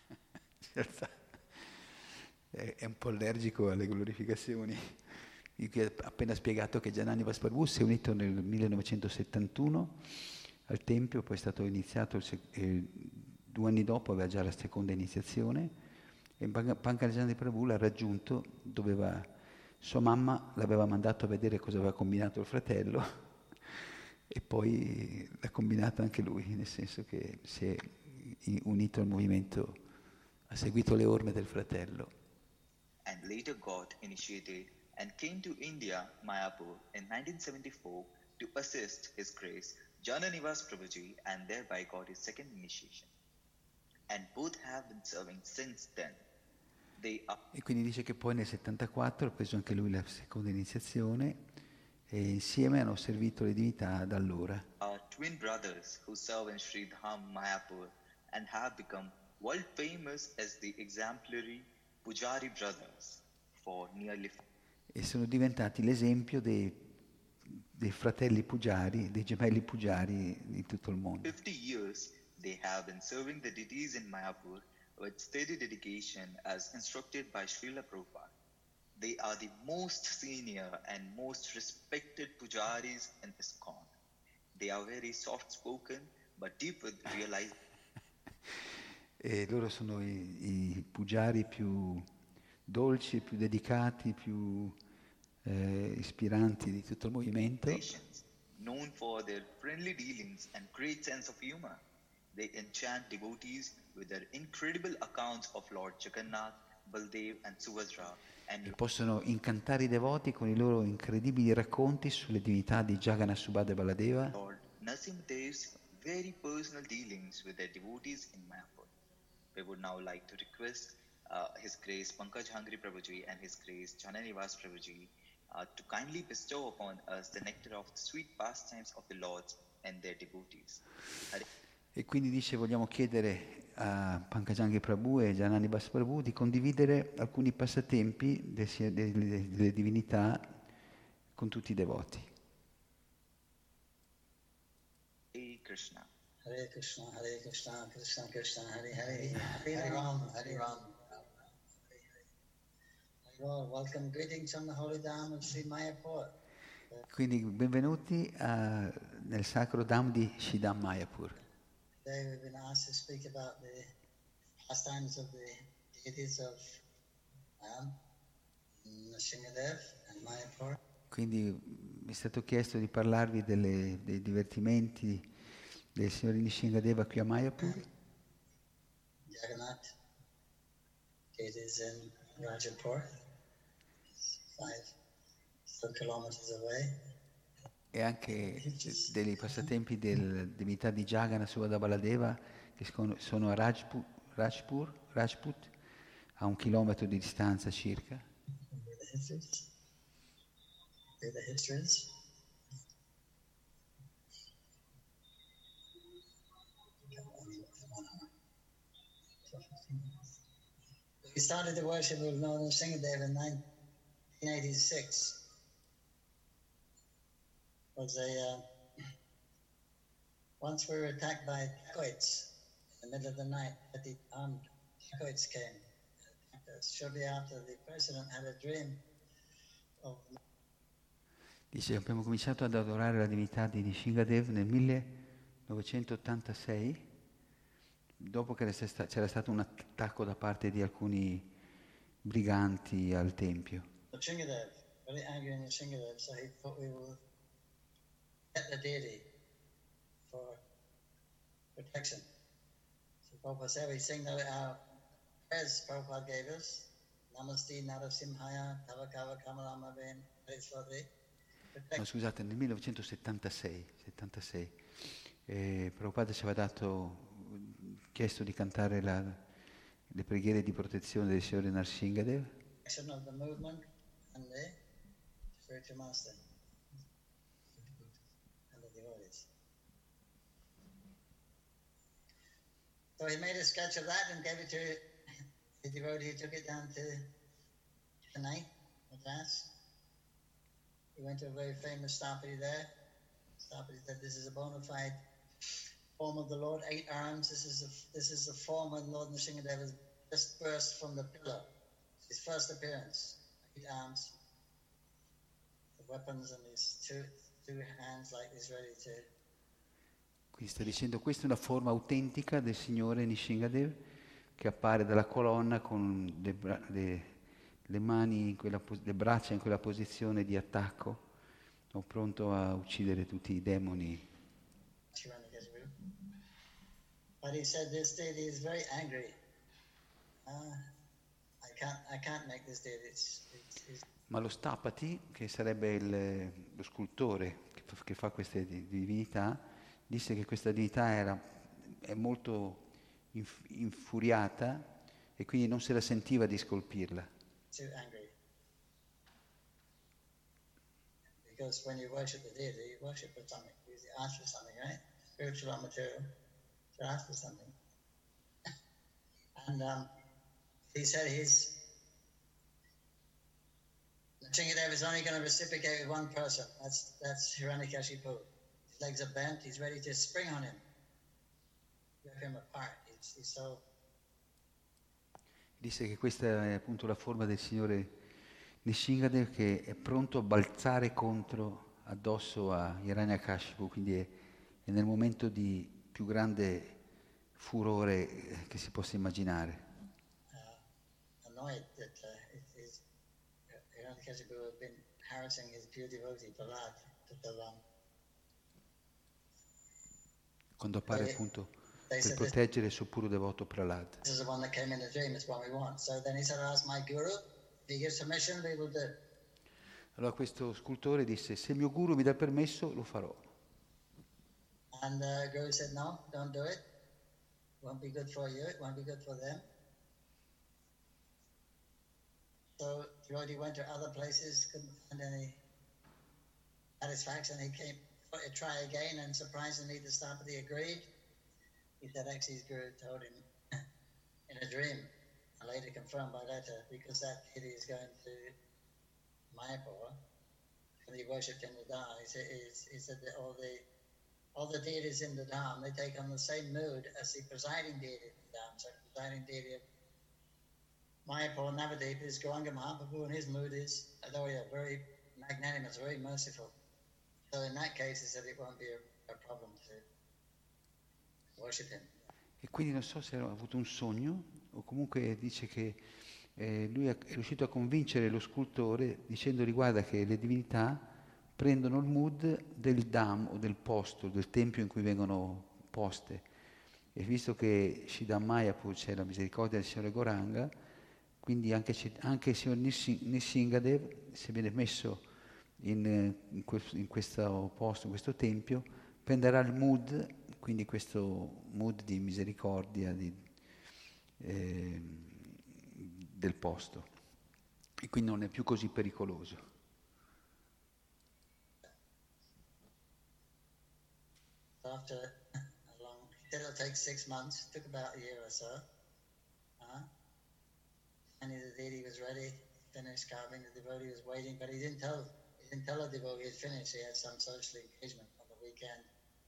È un po' allergico alle glorificazioni. Io ho appena spiegato che Jananivas Prabhu si è unito nel 1971 al Tempio, poi è stato iniziato 2 anni dopo, aveva già la seconda iniziazione. E Pankaj Prabhu l'ha raggiunto, sua mamma l'aveva mandato a vedere cosa aveva combinato il fratello e poi l'ha combinato anche lui, nel senso che si è unito al movimento, ha seguito le orme del fratello. And later got initiated and came to India, Mayapur in 1974 to assist His Grace Jananivas Prabhuji and thereby got his second initiation. And both have been serving since then. E quindi dice che poi nel 74 ha preso anche lui la seconda iniziazione e insieme hanno servito le divinità da allora. Are twin brothers who serve in Sri Dham Mayapur and have become world famous as the exemplary Pujari brothers for nearly. E sono diventati l'esempio dei fratelli Pujari, dei gemelli Pujari di tutto il mondo. 50 years they have been serving the deities in Mayapur with steady dedication as instructed by Srila Prabhupada. They are the most senior and most respected pujaris in ISKCON. They are very soft-spoken, but deep with realization. E loro sono i pujari più dolci, più dedicati, più ispiranti di tutto il movimento. Known for their friendly dealings and great sense of humor. They enchant devotees with their incredible accounts of Lord Jagannath, Baldev and Subhadra. E possono incantare i devoti con i loro incredibili racconti sulle divinità di Jagannath, Subhadra e Baladeva. Lord Narasimhadev's very personal dealings with their devotees in Mayapur. We would now like to request His Grace Pankaj Hangri Prabhuji and His Grace Jananivas Prabhuji to kindly bestow upon us the nectar of the sweet pastimes of the Lords and their devotees. E quindi dice, vogliamo chiedere a Pankajangi Prabhu e Jananivas Prabhu di condividere alcuni passatempi delle divinità con tutti i devoti. Hare Krishna. Hare Krishna, Hare Krishna, Krishna Krishna, Hare Hare, Hare Ram, Hare Ram. Welcome, greetings from the holy Dham of Sri Mayapur. Quindi benvenuti nel sacro Dham di Shridham Mayapur. Today we've been asked to speak about the pastimes of the deities of Nrsimhadev and Mayapur. Quindi mi è stato chiesto di parlarvi dei divertimenti del signore Nrsimhadeva qui a Mayapur. Jagannath, deities in Rajapur, 5 kilometers away. E anche dei passatempi delle divinità di Jagannath, Subhadra, Baladeva, che sono a Rajput, a 1 chilometro di distanza circa. The histories. We started the worship of Lord Nrsimhadev in 1986. Once we were attacked by dacoits in the middle of the night. The armed dacoits came and attacked us. Shortly after, the president had a dream of... Dice, abbiamo cominciato ad adorare la divinità di Nrsimhadev nel 1986, dopo che c'era stato un attacco da parte di alcuni briganti al tempio. Nrsimhadev, very angry in Nrsimhadev, so he thought we will get the deity for protection. So Prabhupada said, we sing our prayers Prabhupada gave us. Namaste Narasimhaya, Tavakava Kamalama Ben, Hariswati. No, scusate, nel 1976, Prabhupada ci aveva chiesto di cantare le preghiere di protezione del Signore Nrsimhadev. Of the movement and the spiritual master and the devotees. So he made a sketch of that and gave it to the devotee who took it down to Chennai, Madras. He went to a very famous Stapati there. Stapati said, this is a bona fide form of the Lord, 8 arms. This is the form when Lord Nrsimhadev has just burst from the pillar. His first appearance, 8 arms, the weapons and his two hands like he's ready to... Quindi sta dicendo, questa è una forma autentica del Signore Nrsimhadev che appare dalla colonna con le mani, le braccia in quella posizione di attacco, o pronto a uccidere tutti i demoni. But he said this deity is very angry. I can't make this deity. Ma lo Stapati, che sarebbe lo scultore che fa queste divinità, disse che questa divinità è molto infuriata e quindi non se la sentiva di scolpirla. Too angry. Because when you worship the deity, you worship for something. You ask for something, right? Spiritual or material. You ask for something. And he said Nrsimhadev is only going to reciprocate with one person. That's Hiranyakashipu. His legs are bent. He's ready to spring on him. Rip him apart. He's so... Disse che questa è appunto la forma del Signore Nishingadev che è pronto a balzare addosso a Hiranyakashipu, quindi è nel momento di più grande furore che si possa immaginare. Annoyed that Hiranyakashipu had been harassing his pure devotee Prahlad to so long. Quando appare appunto They per said, proteggere il suo puro devoto Prahlad. this is the one that came in the dream, it's what we want. So then he said, I'll ask my guru, if he gives permission, we will do. Allora questo scultore disse, se il mio guru mi dà il permesso, lo farò. And the guru said, no, don't do it. It won't be good for you, it won't be good for them. So Devotee went to other places, couldn't find any satisfaction. He came to try again, and surprisingly the Stapati agreed. He said actually his guru told him in a dream, and later confirmed by letter, because that deity is going to Mayapur, and he worshipped in the Dham. He said that all the deities in the Dham, they take on the same mood as the presiding deity in the Dham. So the presiding deity of Mayapur, Navadip, is Gauranga Mahaprabhu, and his mood is, although very magnanimous, very merciful. So in that case, he said it won't be a problem to worship him. E quindi non so se ha avuto un sogno o comunque dice che lui è riuscito a convincere lo scultore dicendogli guarda che le divinità prendono il mood del dham o del posto, del tempio in cui vengono poste. E visto che Shridham Mayapur c'è la misericordia del Signore Gauranga, quindi anche il Signor Nishingadev, se viene messo in questo posto, in questo tempio, prenderà il mood, quindi questo mood di misericordia del posto, e quindi non è più così pericoloso. After a long, he said it'll take 6 months. It took about a year or so. Finally, the deity was ready. Finished carving. The devotee was waiting, but he didn't tell the devotee he had finished. He had some social engagement on the weekend.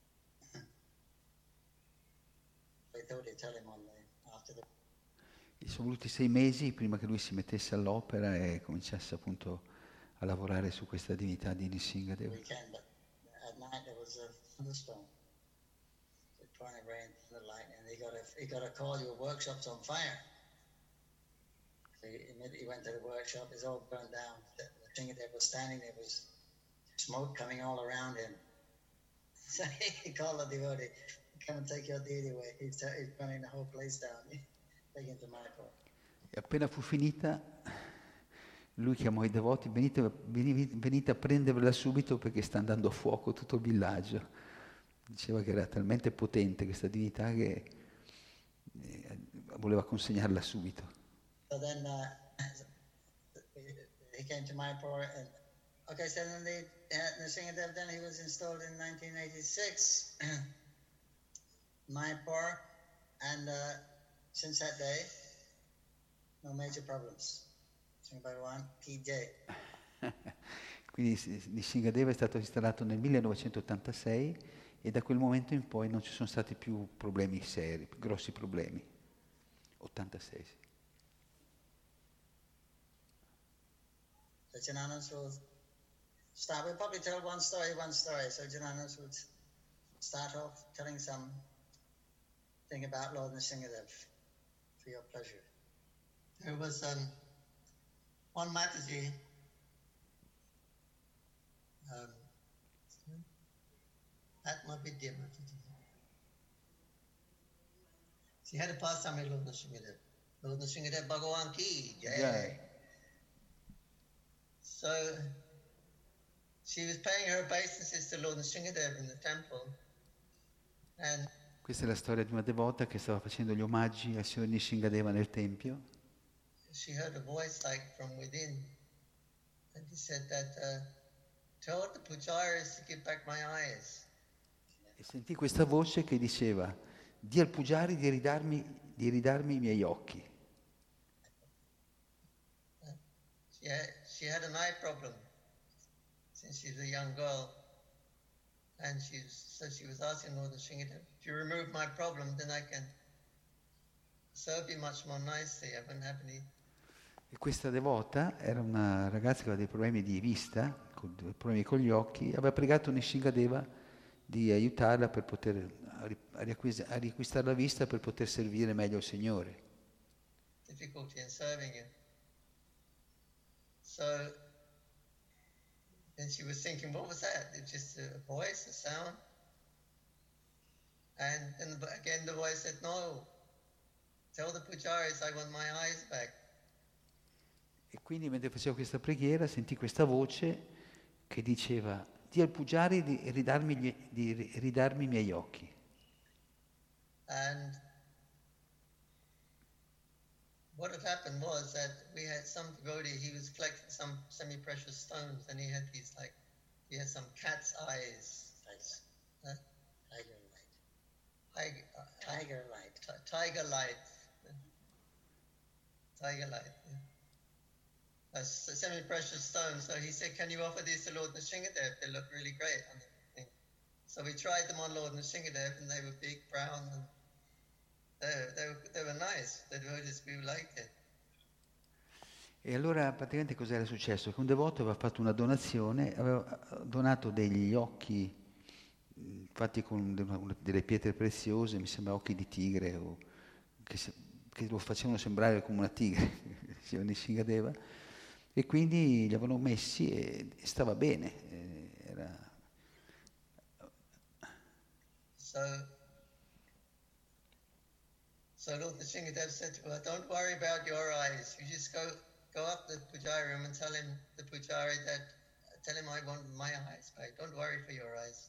They thought he'd tell him after the. E sono voluti 6 mesi prima che lui si mettesse all'opera e cominciasse appunto a lavorare su questa divinità di Nishingadev. Weekend, but at night there was a thunderstorm. So pouring rain, thunder, lightning. He got a call. Your workshop's on fire. So he went to the workshop. It's all burned down. The Nishingadev was standing there. Was smoke coming all around him. So he called the devotee, "Come and take your deity away. He's burning the whole place down." Take him to Mayapur. E appena fu finita, lui chiamò i devoti, venite a prendervela subito perché sta andando a fuoco tutto il villaggio. Diceva che era talmente potente questa divinità che voleva consegnarla subito. So then he came to Mayapur, and so then Nishingadev, then he was installed in 1986, Mayapur, and since that day, no major problems. Sri Bhagavan Ki Jai. Quindi Nishingadeva è stato installato nel 1986 e da quel momento in poi non ci sono stati più problemi seri, più grossi problemi. 86, sì. Jananus will start. We'll probably tell one story. So Jananus would start off telling some thing about Lord Nishingadev for your pleasure. There was one Mataji. Atmavidya Mataji. She had a pastime with Lord Nishingadev. Lord Nishingadev Bhagavan Ki Jai. So she was paying her obeisances to Lord Nishingadev in the temple, and questa è la storia di una devota che stava facendo gli omaggi al Signor Nishingadeva nel tempio. She heard a voice like from within, and he said that told the pujaris to give back my eyes. E sentì questa voce che diceva: di al pujari di ridarmi i miei occhi. She had an eye problem since she was a young girl, and she was asking Lord Nishingadev, if you remove my problem, then I can serve you much more nicely. I wouldn't have any E questa devota era una ragazza che aveva dei problemi di vista, dei problemi con gli occhi, aveva pregato Nishingadeva di aiutarla per poter a riacquistare la vista per poter servire meglio il Signore. Difficulty in serving you. So then she was thinking, what was that? It's just a voice, a sound? And then again the voice said, no, tell the pujaris I want my eyes back. E quindi mentre facevo questa preghiera sentì questa voce che diceva: di al Pujari di ridarmi i miei occhi. And what had happened was that we had some devotee, he was collecting some semi-precious stones, and he had some cat's eyes. Huh? Tiger light. Tiger light. Yeah. Semi-precious stones. So he said, can you offer these to Lord Nrsingadev? They look really great on the thing. So we tried them on Lord Nrsingadev, and they were big, brown, and they were nice. The devotees, we liked it. E allora praticamente cos'era successo? Che un devoto aveva fatto una donazione, aveva donato degli occhi fatti con delle pietre preziose, mi sembra occhi di tigre, che lo facevano sembrare come una tigre, diceva Nishingadeva, e quindi li avevano messi e stava bene. So Lord Nishingadev said to her, don't worry about your eyes, you just go up to the pujari room and tell him I want my eyes back, don't worry for your eyes.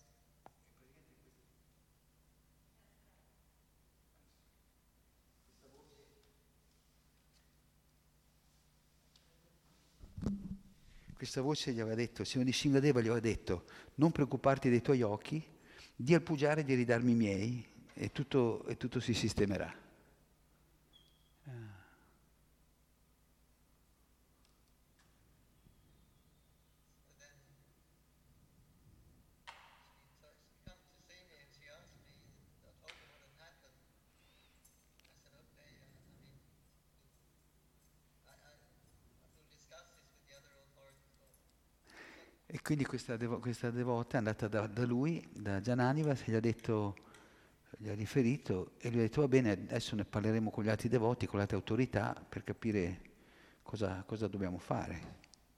Questa voce gli aveva detto, Signor Nishingadeva gli aveva detto: non preoccuparti dei tuoi occhi, di al Pujari di ridarmi i miei e tutto si sistemerà. E quindi questa devota è andata da lui, da Jananiva, gli ha riferito e gli ha detto: va bene, adesso ne parleremo con gli altri devoti, con le altre autorità, per capire cosa dobbiamo fare.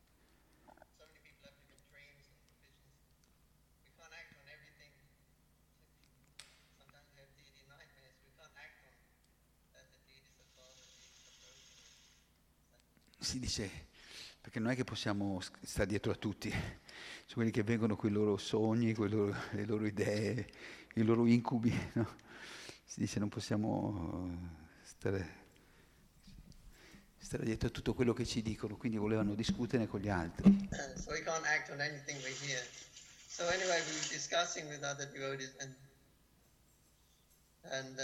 Si dice, perché non è che possiamo stare dietro a tutti, sono quelli che vengono con i loro sogni, le loro idee, i loro incubi, no? Si dice non possiamo stare dietro a tutto quello che ci dicono, quindi volevano discutere con gli altri. So we can't act on anything we hear. So anyway, we were discussing with other devotees, and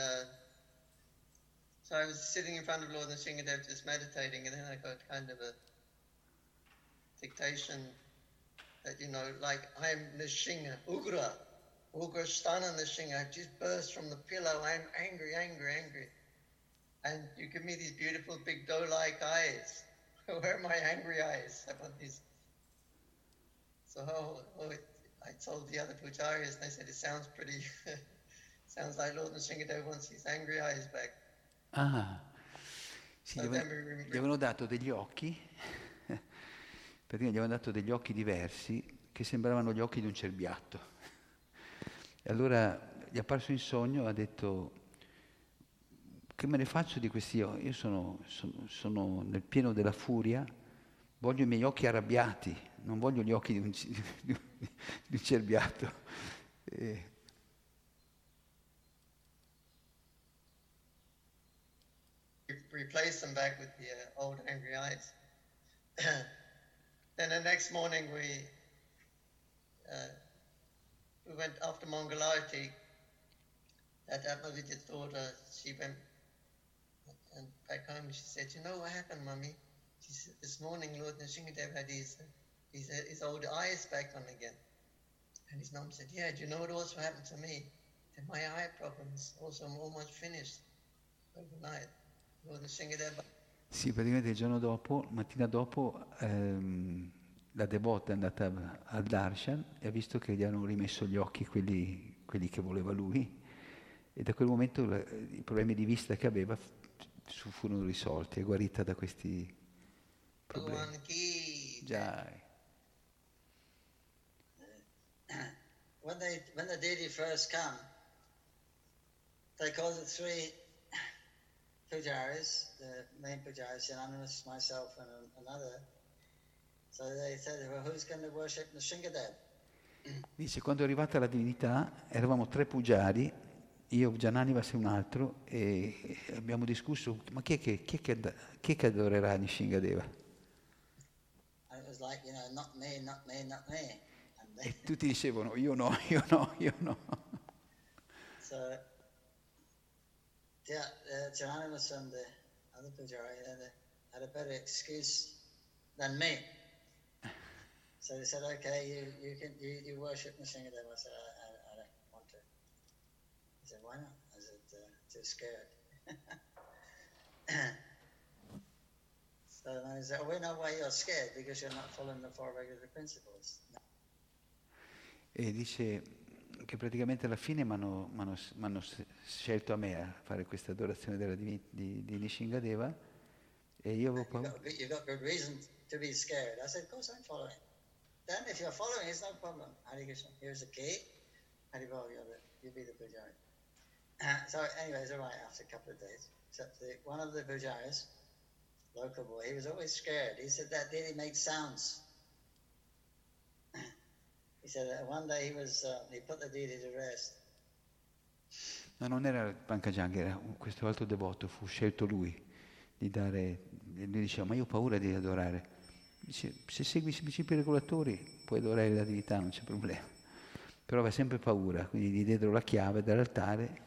so I was sitting in front of Lord Nrsingadev just meditating, and then I got kind of a dictation that, like I'm Nrsinga, Ugra Sthana Nrsinga. I just burst from the pillow. I'm angry. And you give me these beautiful big doe-like eyes. Where are my angry eyes? I want these. So I told the other pujaris, and they said, it sounds pretty, sounds like Lord Nrsingadev wants his angry eyes back. Ah, sì, gli avevano dato degli occhi, perché gli avevano dato degli occhi diversi che sembravano gli occhi di un cerbiatto. E allora gli è apparso in sogno, ha detto: che me ne faccio di questi occhi? Io sono nel pieno della furia, voglio i miei occhi arrabbiati, non voglio gli occhi di un cerbiatto. Replace them back with the old angry eyes. Then the next morning we went after Mangalarti. That Atmavidya's daughter, she went and back home. She said, "You know what happened, Mummy? She said, this morning Lord Nrsingadev had his old eyes back on again." And his mum said, "Yeah, do you know what also happened to me? That my eye problems also almost finished overnight." Lord Nrsingadev Sì, praticamente il giorno dopo, mattina dopo, la devota è andata al darshan e ha visto che gli hanno rimesso gli occhi quelli che voleva lui, e da quel momento i problemi di vista che aveva furono risolti, è guarita da questi problemi. Bhagavan ki. Già. When the deity first come, they call the three pujaris, the main pujaris, Anonymous, myself, and another. So they said, well, who's going to worship Nrsingadev? Dice, quando è arrivata la divinità, eravamo 3 pugiari, io, Jananivas e un altro, e abbiamo discusso, ma chi è che adorerà Nishingadeva? And it was like, not me, not me, not me. And they, E tutti dicevano, io no, io no, io no. so, yeah, Jananimus and the other pujari had a better excuse than me. So they said, okay, you worship Nrsingadev. I said, I don't want to. He said, why not? I said, too scared. So I said, we know why you're scared, because you're not following the 4 regular principles. E dice che praticamente alla fine mi hanno scelto a me a fare questa adorazione di Nishingadeva, e io avevo paura. You've got good reason to be scared. I said, of course I'm following. Then if you're following, it's no problem. Hare Krishna, here's a key. Hare Bol, you'll be the pujari. So anyways, all right, after a couple of days. Except one of the pujaris, local boy, he was always scared. He said that deity makes sounds. He said that one day he put the deity to rest. No, non era Pankajanga, era questo altro devoto, fu scelto lui di dare, lui diceva, ma io ho paura di adorare. Dice, se segui i principi regolatori puoi adorare la divinità, non c'è problema. Però aveva sempre paura, quindi gli diedero la chiave dall'altare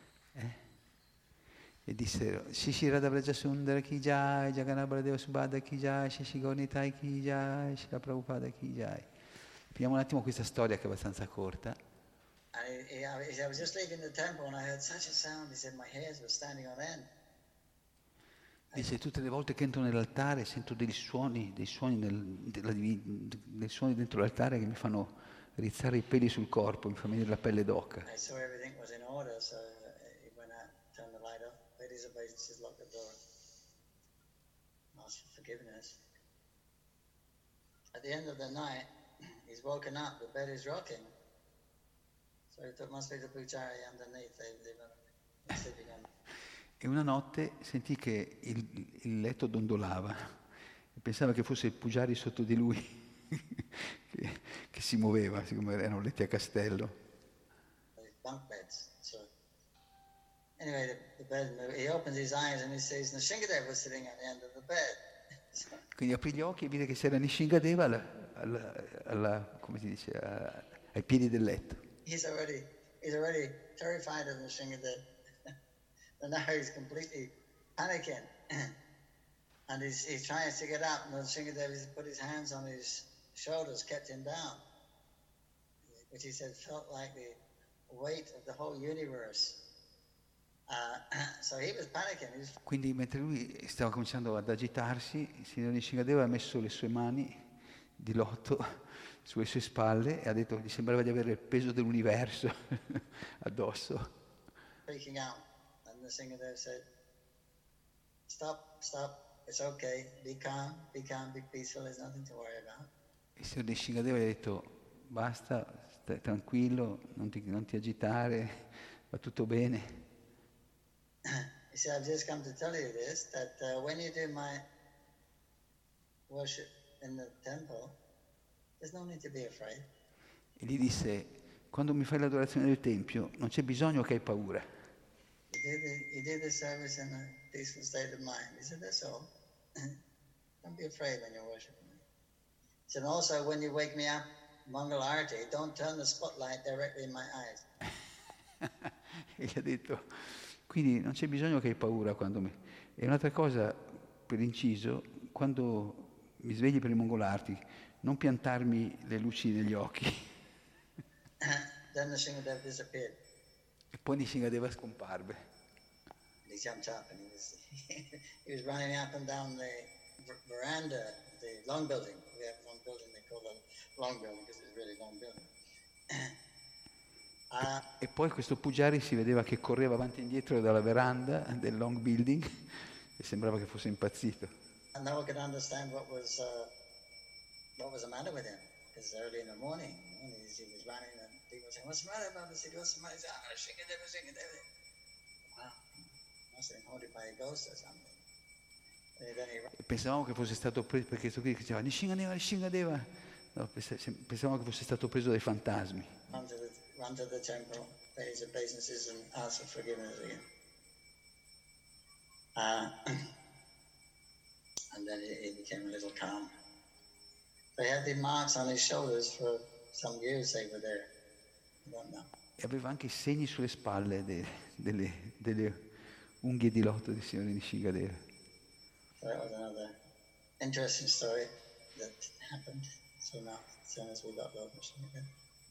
e dissero, Shishi Radhavraja Sundara Ki Jai, Jagannath Baladeva Subhadra Ki Jai, Shishi Gaurnitai Ki Jai, Shila Prabhupada Ki Jai. Finiamo un attimo questa storia che è abbastanza corta. I was just leaving the temple and I heard such a sound. He said my hairs were standing on end. Dice, tutte le volte che entro nell'altare sento dei suoni dentro l'altare che mi fanno rizzare i peli sul corpo, mi fa venire la pelle d'oca. I saw everything was in order, so he went out, turned the light off, paid his obeisances, locked the door, asked for forgiveness. At the end of the night, he's woken up, the bed is rocking. So he thought, must be the pujari underneath, they were sleeping on. E una notte sentì che il letto dondolava e pensava che fosse il Pujari sotto di lui che si muoveva, siccome erano letti a castello. Bunk beds. So anyway, the bed moved. He opens his eyes and he sees Nrsingadev was sitting at the end of the bed. Quindi aprì gli occhi e vide che c'era Nishingadeva come si dice, ai piedi del letto. He's already terrified of Nrsingadev. And now he's completely panicking. And he's trying to get up, and Nrsingadev has put his hands on his shoulders, kept him down. Which he said felt like the weight of the whole universe. So he was panicking. Quindi mentre lui stava cominciando ad agitarsi, il signor Nishingadeva ha messo le sue mani di lotto sulle sue spalle e ha detto, gli sembrava di avere il peso dell'universo addosso. Freaking out. And Nrsingadev said, stop, it's okay, be calm, be peaceful, there's nothing to worry about. Il signor Nishingadeva gli ha detto, basta, stai tranquillo, non ti agitare, va tutto bene. He said, I've just come to tell you this, that when you do my worship in the temple, there's no need to be afraid. E gli disse, quando mi fai l'adorazione del Tempio, non c'è bisogno che hai paura. You did the service in a peaceful state of mind. He said, that's all. Don't be afraid when you're worshiping me. He said, also, when you wake me up, Mangal Arati, don't turn the spotlight directly in my eyes. E gli ha detto, quindi non c'è bisogno che hai paura quando mi... E un'altra cosa, per inciso, quando mi svegli per il Mongolarti, non piantarmi le luci negli occhi. Then Nrsingadev disappeared. E poi Nishingadeva scomparve. he jumped up and he was running up and down the veranda, the long building. We have one building they call the long building because it's a really long building. E poi questo Pujari si vedeva che correva avanti e indietro dalla veranda del long building e sembrava che fosse impazzito. And no one could understand what was the matter with him. Because early in the morning, he was running and people were saying, "What's the matter, Baba?" He said, "What's the matter?" He said, "Ah, Shingadeva. Wow, must have been haunted by a ghost or something. And then E pensavamo che fosse stato preso, perché questo qui diceva Nishingadeva. No, pensavamo che fosse stato preso dai fantasmi. run to the temple, pay his obeisances and ask for forgiveness again. And then he became a little calm. They had the marks on his shoulders for some years they were there. I don't know. E aveva anche i segni sulle spalle delle unghie di lotto di signore Nishingadeva. So that was another interesting story that happened soon as we got Lord Nishingadeva.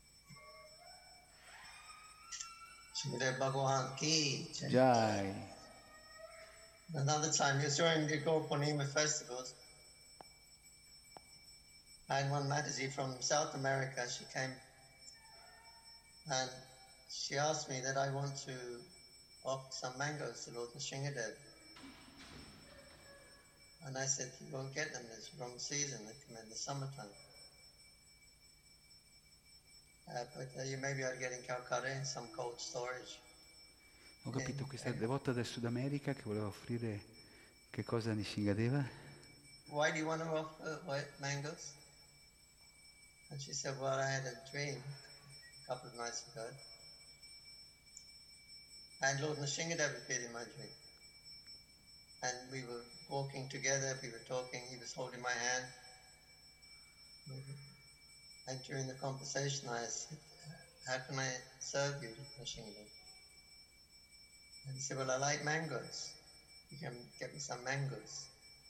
Shridev Bhagavan ki Jai. Jai. Another time, it was during the Gaur Purnima festivals, I had one Mataji from South America. She came and she asked me that I want to offer some mangoes to Lord Nishingadev. And I said, you won't get them, it's wrong season, they come in the summertime. But you maybe are getting Calcutta in some cold storage. Ho capito, questa devota del Sud America che voleva offrire che cosa a Nishingadeva? Why do you want to offer white mangoes? And she said, well, I had a dream a couple of nights ago. And Lord Nishingadev appeared in my dream. And we were walking together, we were talking, he was holding my hand. And during the conversation I said, how can I serve you, Nishingadev? And he said, well, I like mangoes. You can get me some mangoes.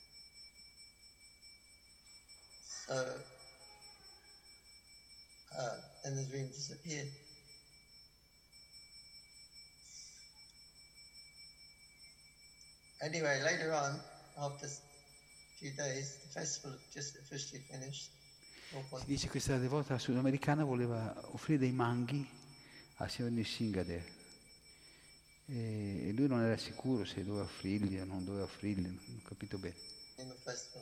So, then the dream disappeared. Anyway, later on, after a few days, the festival just officially finished. Si dice che questa devota sudamericana voleva offrire dei manghi a signor Nishingadeva. E lui non era sicuro se doveva offrirli o non doveva offrirli, non ho capito bene. In the festival.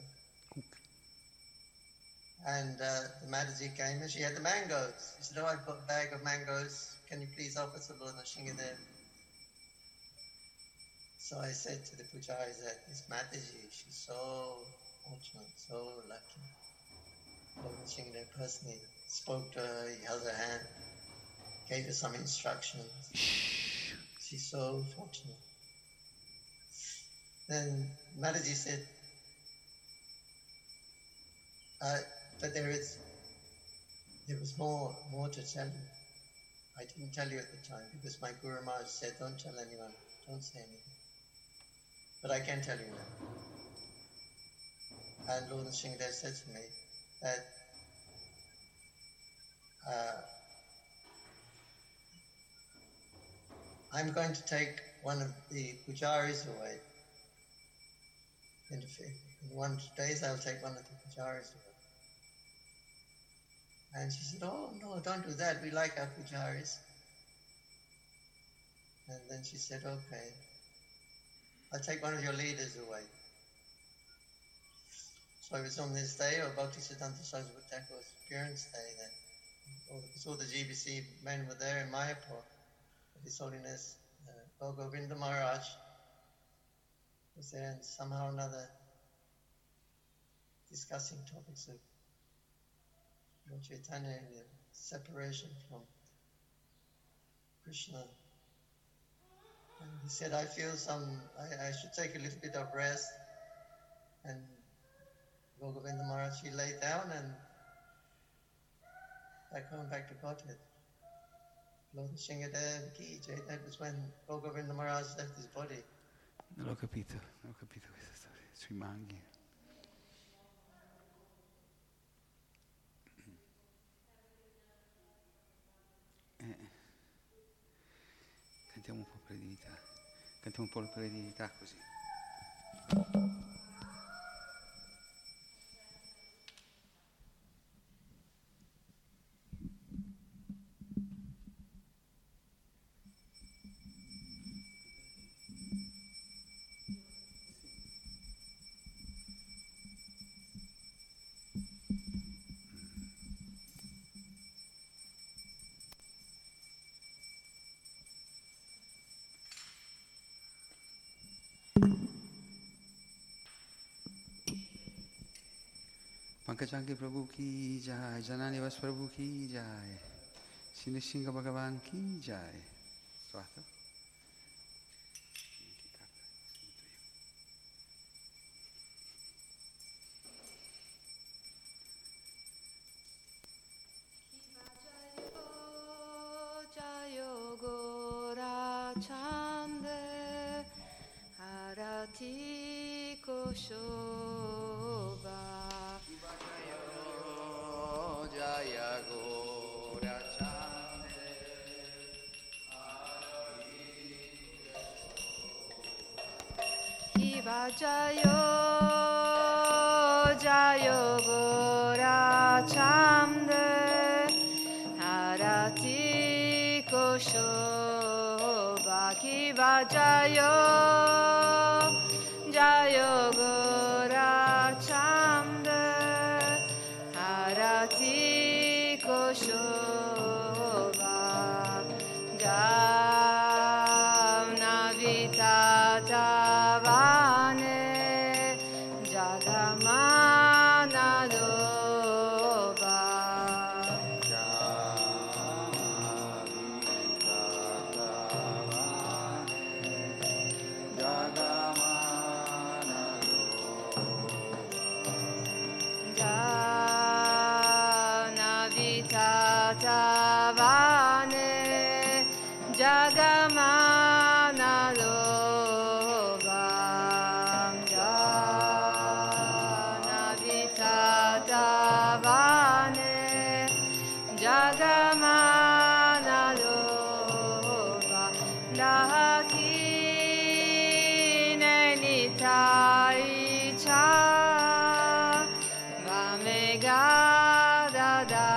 And the Mataji came and she had the mangoes. She said, oh, I've got a bag of mangoes. Can you please offer to Lord Nishingadev? So I said to the pujaris that this Mataji, she's so fortunate, so lucky. Lord Nishingadev personally spoke to her, he held her hand, gave her some instructions. She's so fortunate. Then Mataji said, but there was more to tell you. I didn't tell you at the time because my Guru Maharaj said, don't tell anyone, don't say anything. But I can tell you now. And Lord Nishingadev said to me that I'm going to take one of the pujaris away. In 1 or 2 days I'll take one of the pujaris away. And she said, oh no, don't do that, we like our pujaris. And then she said, okay, I'll take one of your leaders away. So it was on this day, or Bhaktisiddhanta Saraswati Thakur's appearance day, that all the GBC men were there in Mayapur. His Holiness Govinda Maharaj was there, and somehow or another discussing topics of Lord Chaitanya and the separation from Krishna. And he said, I feel I should take a little bit of rest. And Govinda Maharaj, he lay down and back to Godhead. Lord Nishingadev ki Jai. That was when Govinda Maharaj left his body. Non ho capito questa storia sui manghi. Cantiamo un po' per divinità. Cantiamo un po' la preghiera così. Pankaj Prabhu ki jai, Janani Vas Prabhu ki jai, Sinishinga Bhagavan ki jai. Trovato? Jayo Gora Chande Arati Koshoba Jaya Gora Chande Kiva Jayo Jayo Gora Chande Arati Koshoba Kiva Jayo Jayo Gora Chande Arati Koshoba Jamna Vitatavane Jagamana Doba Tatavane Jagamana Lobam Janavitadavane Jagamana Lobam Lahakine Nitaicha Vamegadada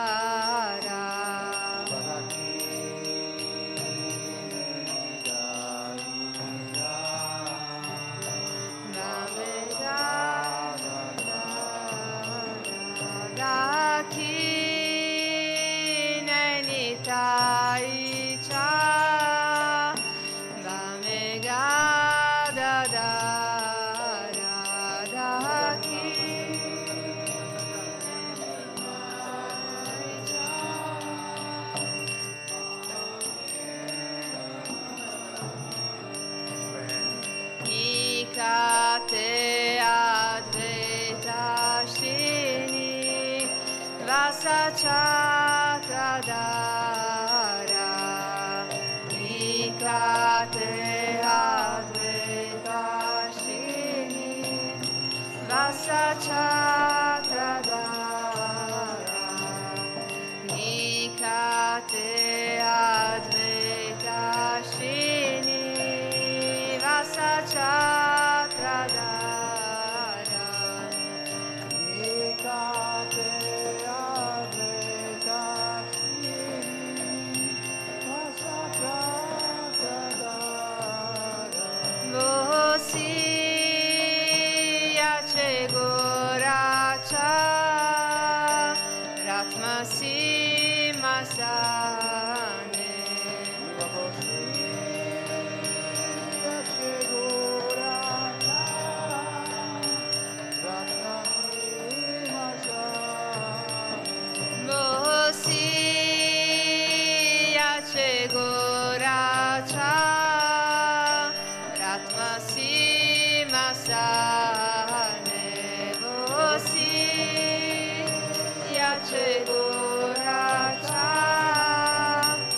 Te Advaita Shini Vasachatradara Nikate Advaita Shini Vasachatradara Nikate Advaita Shini Vasachatradara Vosiya Chegoracha Ratmasi Masane Vosiya Chegoracha Ratmasi Masane Vosiya Chegoracha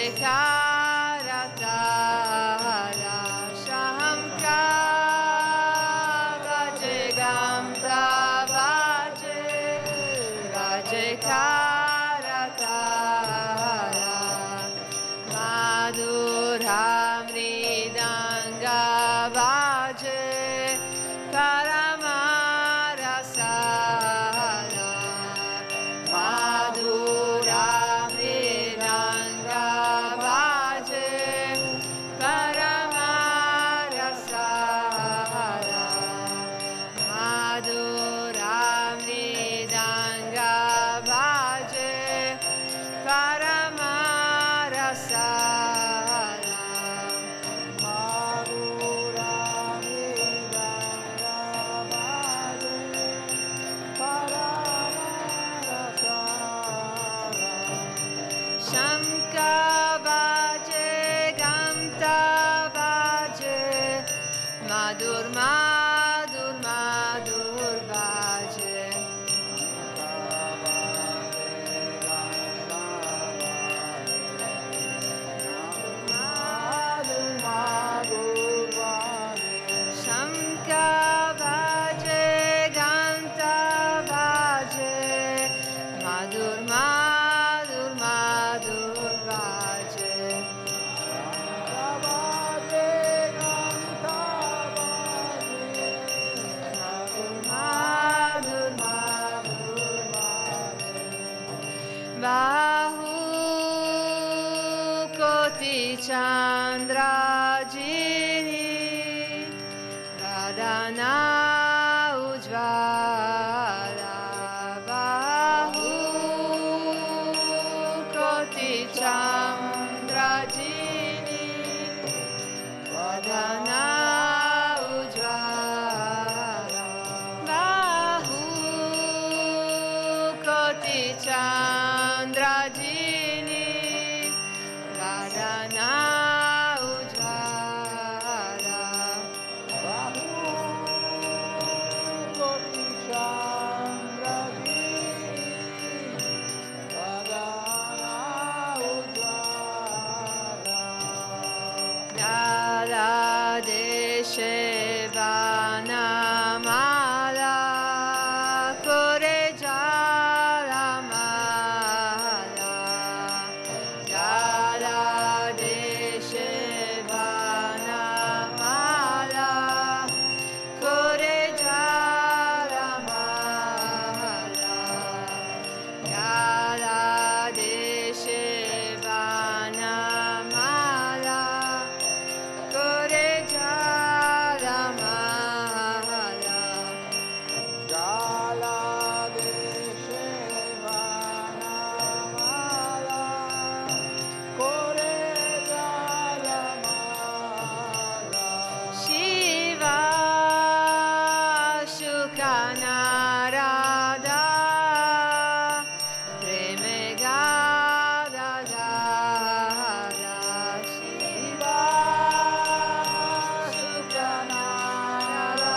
Karatara Shamka Vaje Gamta Vaje Vaje Karatara Madhuram Ridanga Vaje Paramarasala Madhuram Ridanga Vaje Paramarasala Madhuram Ridanga Vaje Paramarasala Shamka Vaje Ganta Vaje Madhur Madhur Madhur Vaje Madhur Madhur Vaje Shamka Vaje Ganta Vaje Madhur Madhur Madhur Vaje Madhur Madhur Vaje Bahu Koti Chandra Jini Vadana Ujvala Bahu Koti Chandra Jini Vadana Ujvala Bahu Koti Chandra Jini Vadana Ujvala Bahu Koti Chandra Jini Vadana Ujvala Dala Deshe Vanamala Kore Jala Mala Dala Deshe Vanamala Kore Jala Mala Dala Deshe Vanamala Kore Jala Mala Jala Deshe Vanamala Kore Jala Mala Shiva Shukanarada Preme Gada Gada Shiva Shukanarada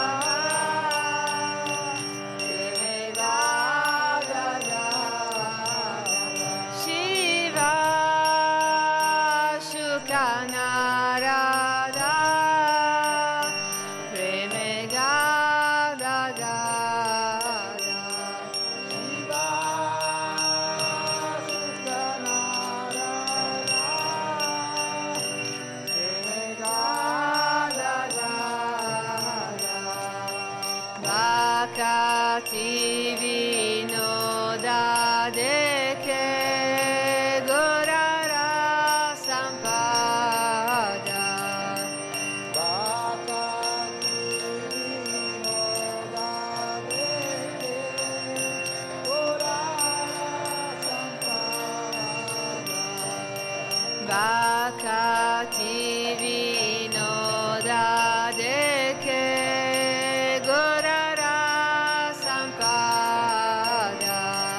Preme Gada Gada Shiva Shukanarada Preme Gada Gada Shiva Shukanarada Preme Gada Gada Vakati Vinoda Deke Gorara Sampada Vakati Vinoda Deke Gorara Sampada Vakati Vinoda Deke Gorara Sampada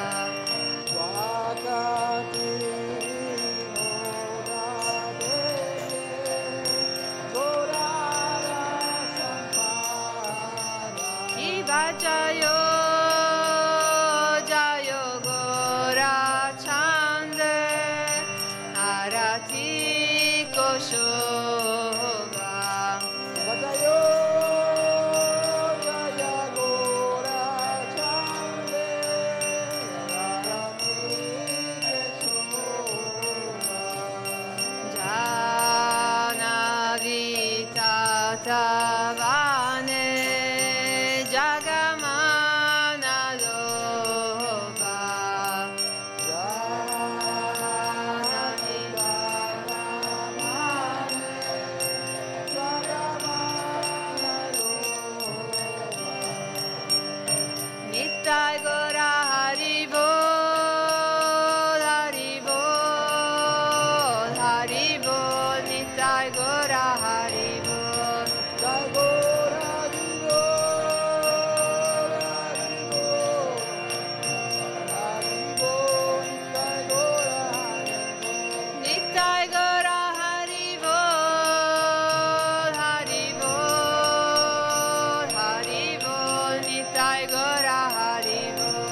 Vakati Vinoda Deke Gorara Sampada Kiva Jayo Jayo Gora Chande Arati Shobha. Vadayo Jaya Gora Chande Radharani Jana Vita Tavane Jagamana Loba. Jana Vita Nitai Gora Haribol, Haribol, Haribol, Nitai Gora Haribol. Nitai Gora Haribol, Haribol, Haribol, Nitai Gora Haribol.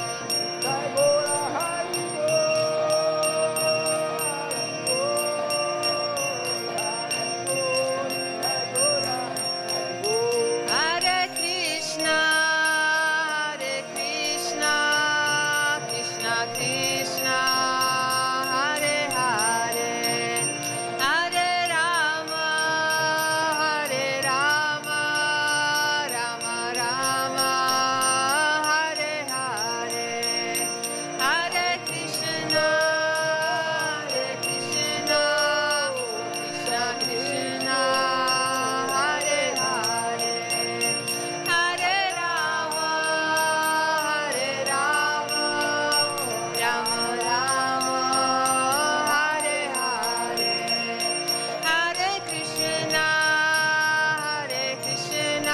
Hare Krishna, Krishna Krishna, Hare Hare, Hare Rama, Rama Rama, Hare Hare, Hare Krishna, Krishna Krishna, Hare Hare, Hare Rama, Rama Rama, Hare Hare, Hare Krishna, Krishna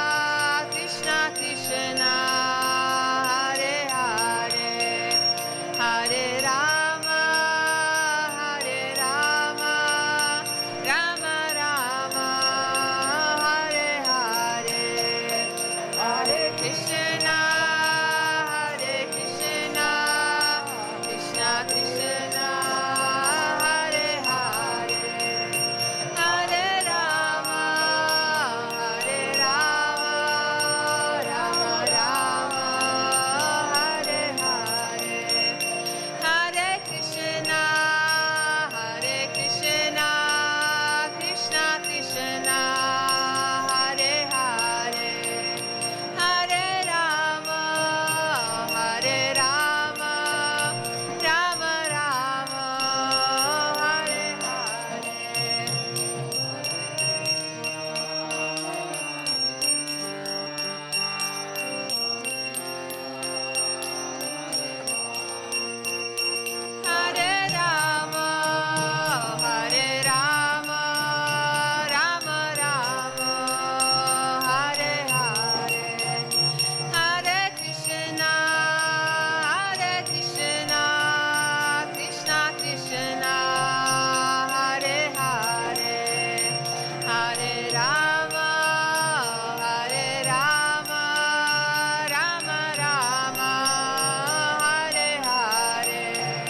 Krishna, Hare Hare, Hare Rama, Rama Rama, Hare Hare, Hare Krishna, Krishna Krishna, Hare Hare, Hare Rama, Rama Rama, Hare Hare, Hare Krishna, Krishna Krishna, Hare Hare, Hare Rama, Rama Rama, Hare Hare. Hare Rama, Rama Rama, Hare Hare, Hare Krishna, Krishna Krishna, Hare Hare, Hare Rama, Rama Rama, Hare Hare.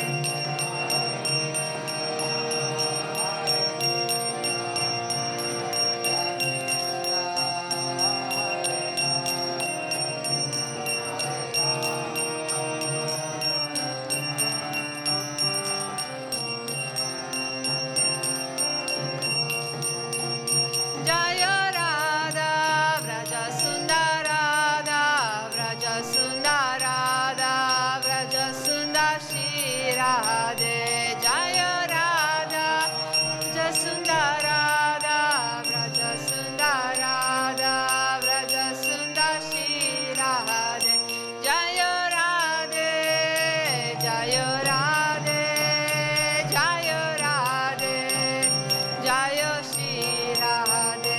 Jaya Radha, Vraja Sundarada, Vraja Sundarada, Vraja Sundar Shri Radhe. Jaya Radha, Vraja Sundarada, Vraja Sundarada, Vraja Sundar Shri Radhe. Jaya Radhe, Jaya Radhe, Jaya Radhe, Jaya Shri Radhe.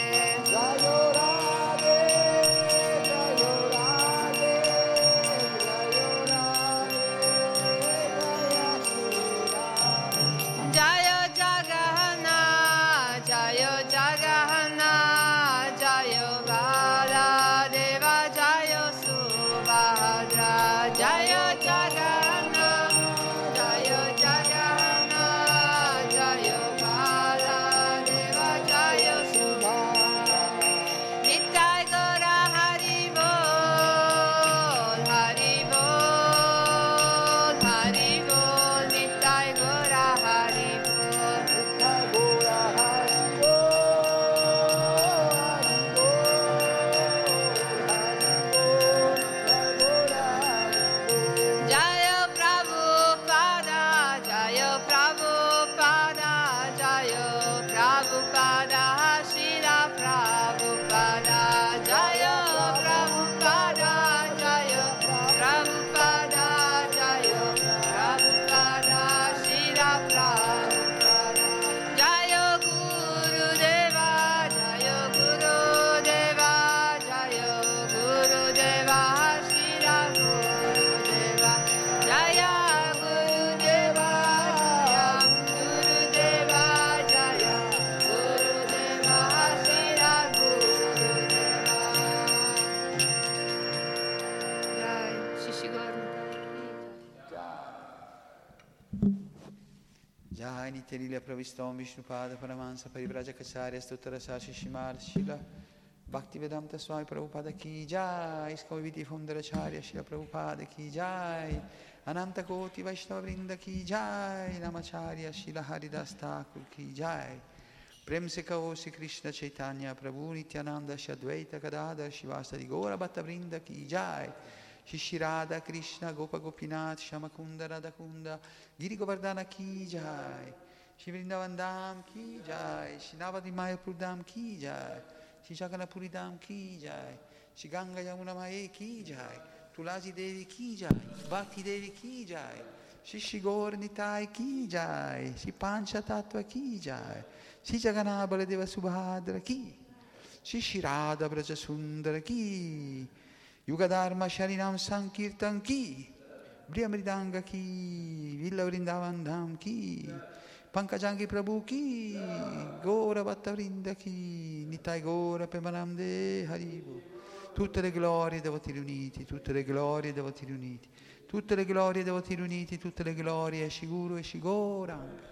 Jai Nityanila Pravistom Vishnupada Paramahansa Parivrajacacharya Stuttara Sashi Shimar Shila Bhaktivedanta Swami Prabhupada Ki Jai Iskoviti Fundaracharya Shila Prabhupada Ki Jai Ananta Koti Vaishnava Vrinda Ki Jai Namacharya Shila Haridas Thakur Ki Jai Prem se Kavo Sri Krishna Chaitanya Prabhu Nityananda Shadvaita Gadadhar Shivasadi Gora Bhatta Vrinda Ki Jai Shishirada Krishna Gopa Gopinath Shamakunda Radhakunda Giri Govardhana Ki Jai Shri Vrindavan Dham Ki Jai Shri Navadi Mayapur Dham Ki Jai Shri Jagannathpuri Dham Ki Jai Shri Ganga Yamuna Mae Ki Jai Tulasi Devi Ki Jai Bhakti Devi Ki Jai Shri Shri Gaur Nitai Ki Jai Shri Pancha Tattva Ki Jai Shri Jagannath Baladeva Subhadra Ki Shri Shri Radha Braja Sundara Ki Yugadharma Sharinam Sankirtan Ki Briyamridanga Ki Villa Vrindavan Dham Ki Pankajangi Prabhu Ki Gora Bhatta Vrinda Ki Nitai Gora Pemanamde Haribu. Tutte le glorie dei devoti riuniti, tutte le glorie dei devoti riuniti, tutte le glorie dei devoti riuniti, tutte le glorie Shiguru e Shigoranga.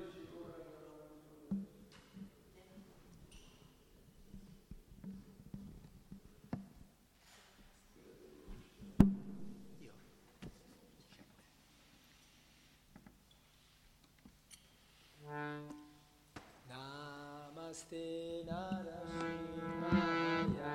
Namaste Narasimhaya.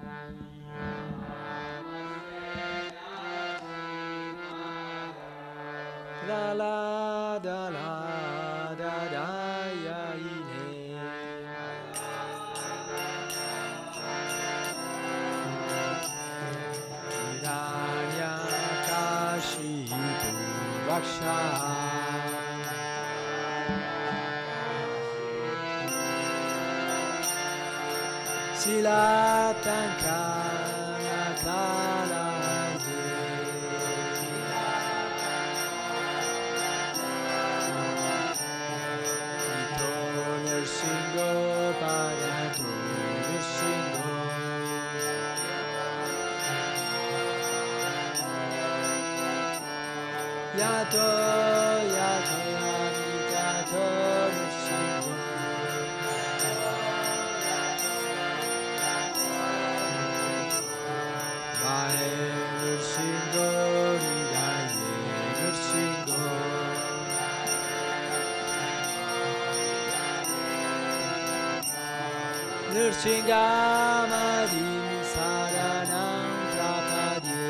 La la da la da da ya ine. Hiranya kashipu raksha. Silatankana kalaje Ito nirsingo padato nirsingo Yato yato amitato nirsingo Nirsingo, Nidaye Nirsingo Nirsingamadin Saranam Prapadye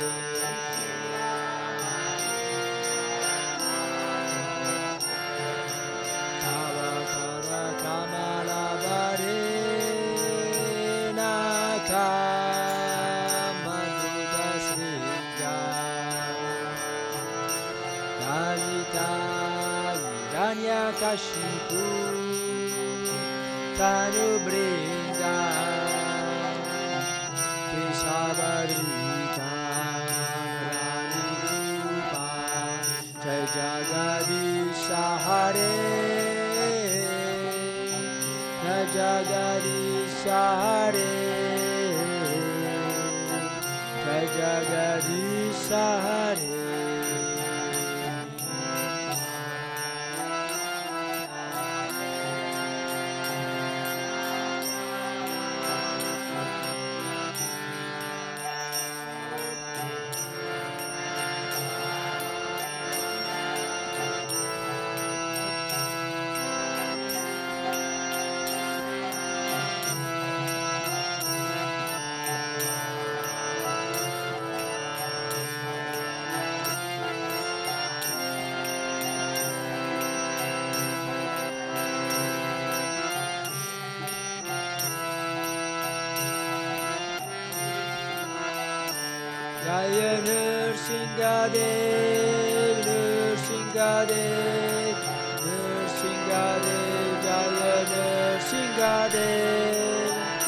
Tava Kara Kamala Varena Kashipu Tanu Brinda Keshavarita Rani Rupa Jai Jagadisha Hare Jai Jagadisha Hare Jai Jagadisha Hare Jaya Nrsingadev, Nrsingadev, Nrsingadev, Jaya Nrsingadev.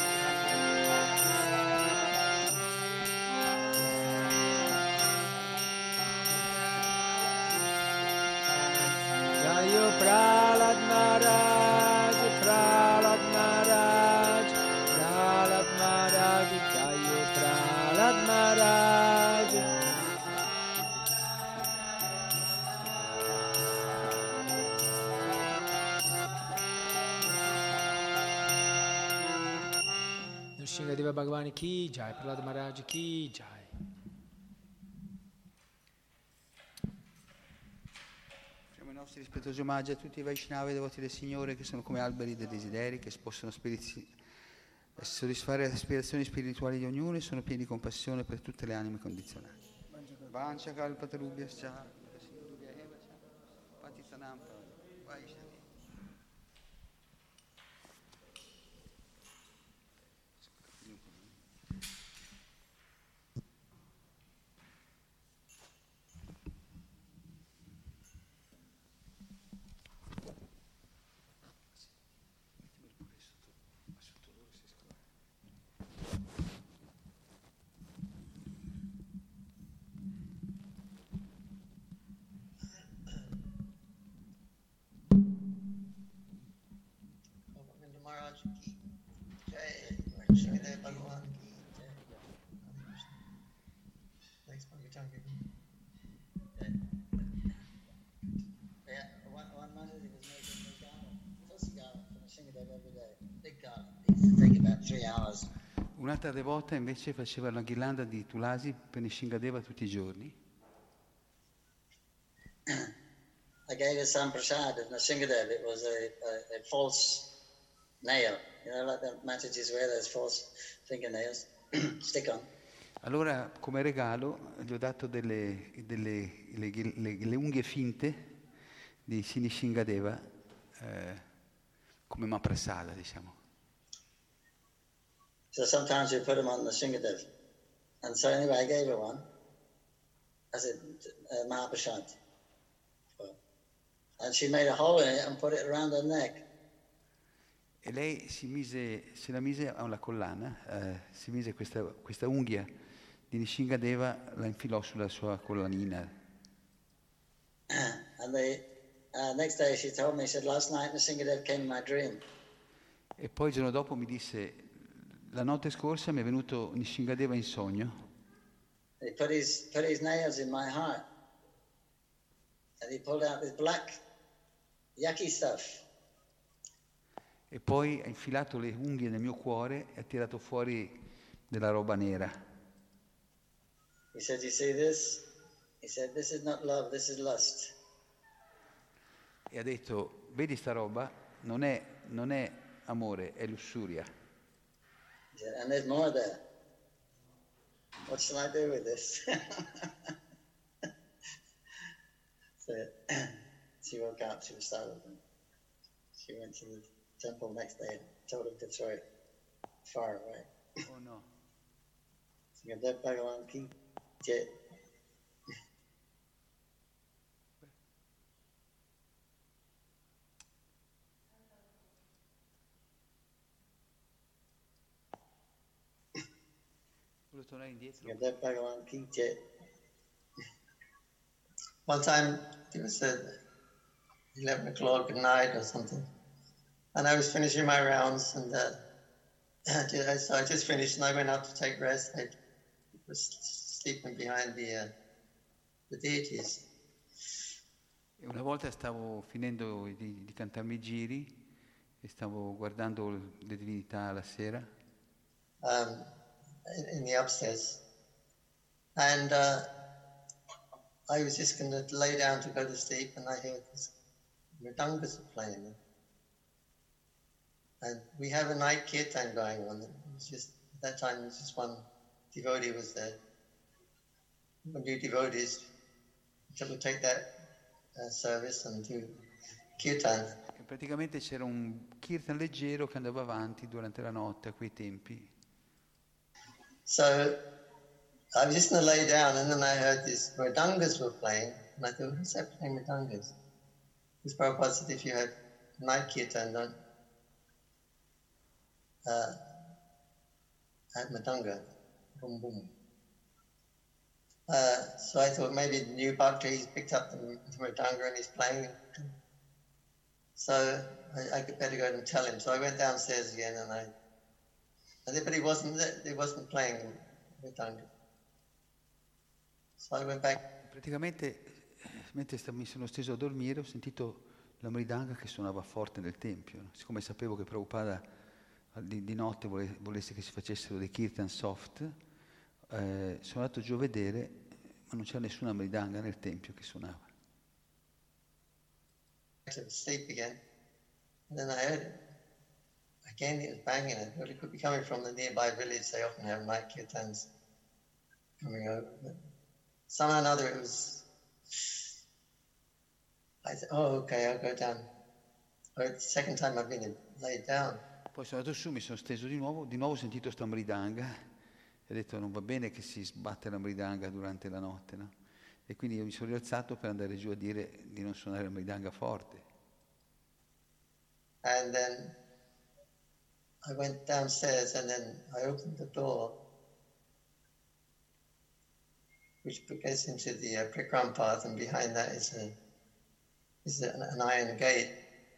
Jaya Prahlad Maharaj, Prahlad Maharaj, Prahlad Maharaj, Jaya Prahlad Maharaj. Nishingadeva Bhagavani ki jai, Prahlad Maharaj ki jai. Facciamo i nostri rispettosi omaggi a tutti i Vaishnava e devoti del Signore che sono come alberi dei desideri, che possono soddisfare le aspirazioni spirituali di ognuno e sono pieni di compassione per tutte le anime condizionate. Vancha kalpatarubhyascha, Sindhubhya eva cha, Patitanam Vaishnavi. Govinda Maharaj ki jai, Nishingadev Bhagavan ki jai. Thanks, Bhagavatam. Yeah, one Mataji was making a garland, fussy garland for Nishingadev every day. Big garland. It used to take about 3 hours. Un'altra devota invece faceva una ghirlanda di tulasi per Nishingadeva tutti i giorni. I gave her some prasad of Nishingadev. It was a false nail. You know, like the Matajis wear those false fingernails. Stick on. Allora, come regalo, gli ho dato le unghie finte di Sinishingadeva come maprasada, diciamo. So sometimes we put them on Nishingadev. And so anyway, I gave her one. I said, Mahaprasad. And she made a hole in it and put it around her neck. E lei se la mise alla collana, si mise questa unghia di Nishingadeva, la infilò sulla sua collanina. And the next day she told me, she said, last night Nishingadev came in my dream. E poi il giorno dopo mi disse, la notte scorsa mi è venuto Nishingadeva in sogno. He put his nails in my heart. And he pulled out this black, yucky stuff. E poi ha infilato le unghie nel mio cuore e ha tirato fuori della roba nera. He said, you see this? He said, this is not love, this is lust. E ha detto, vedi sta roba? Non è amore, è lussuria. He said, and there's more there. What shall I do with this? So she woke up, she was startled. She went to the temple next day and told him to throw it far away. Oh no. Nishingadev Bhagavan ki jai. Volevo tornare indietro. Nishingadev Bhagavan ki jai. One time it was 11 o'clock at night or something, and I was finishing my rounds, and so I just finished, and I went out to take rest. I was sleeping behind the deities. E una volta stavo finendo di cantarmi i giri e stavo guardando le divinità la sera. In the upstairs, and I was just going to lay down to go to sleep, and I heard this mridangas playing. And we have a night kirtan going on. It was just, at that time, it was just one devotee was there. One new devotees, so we take that service and do kirtan. E praticamente c'era un kirtan leggero che andava avanti durante la notte a quei tempi. So I was just going to lay down, and then I heard these mridangas were playing, and I thought, who's that playing mridangas? Because Prabhupada said if you had night kirtan, don't at mridanga, boom boom. So I thought maybe the new bhakti, he's picked up the mridanga and he's playing. So I could better go and tell him. So I went downstairs again, but he wasn't playing mridanga. So I went back. Praticamente, mentre mi sono steso a dormire, ho sentito la mridanga che suonava forte nel tempio. Siccome sapevo che Prabhupada di notte volesse che si facessero dei kirtan soft, sono andato giù a vedere, ma non c'era nessuna mridanga nel tempio che suonava. To sleep again. And then I heard it. Again, it was banging it, but it could be coming from the nearby village. They often have night kirtans coming over. But somehow or another, it was. I said, "Oh, okay, I'll go down." But the second time I've been laid down. Poi sono andato su, mi sono steso di nuovo ho sentito sta mridanga e ho detto non va bene che si sbatte la mridanga durante la notte, no? E quindi io mi sono rialzato per andare giù a dire di non suonare la mridanga forte. And then I went downstairs and then I opened the door, which gets into the Prikram path, and behind that is an iron gate.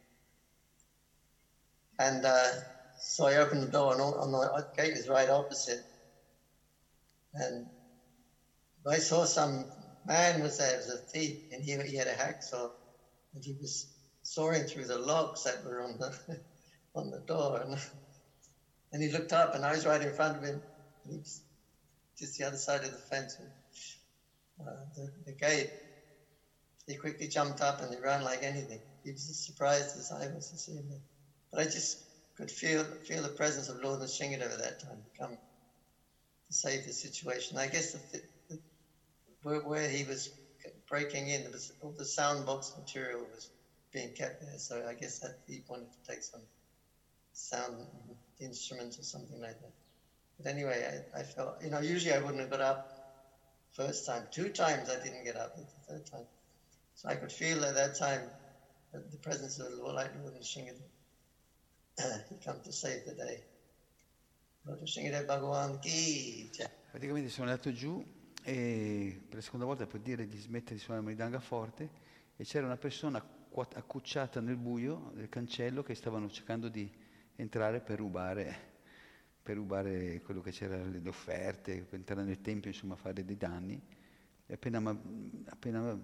And so I opened the door, and on the gate is right opposite. And I saw some man was there, it was a thief, and he had a hacksaw, and he was sawing through the logs that were on the door. And he looked up, and I was right in front of him. And he was just the other side of the fence, the gate. He quickly jumped up and he ran like anything. He was as surprised as I was to see him. But I just could feel the presence of Lord Nrsingadeva at that time come to save the situation. I guess where he was breaking in, all the sound box material was being kept there. So I guess that he wanted to take some sound instruments or something like that. But anyway, I felt, usually I wouldn't have got up first time. 2 times I didn't get up, but the third time. So I could feel at that time the presence of the Lord Nrsingadeva. He come to save the day. Lord Nrsingadeva Bhagavan ki jai. Praticamente sono andato giù e per la seconda volta per dire di smettere di suonare la mridanga forte e c'era una persona accucciata nel buio del cancello che stavano cercando di entrare per rubare quello che c'era, le offerte, per entrare nel tempio, insomma fare dei danni. E appena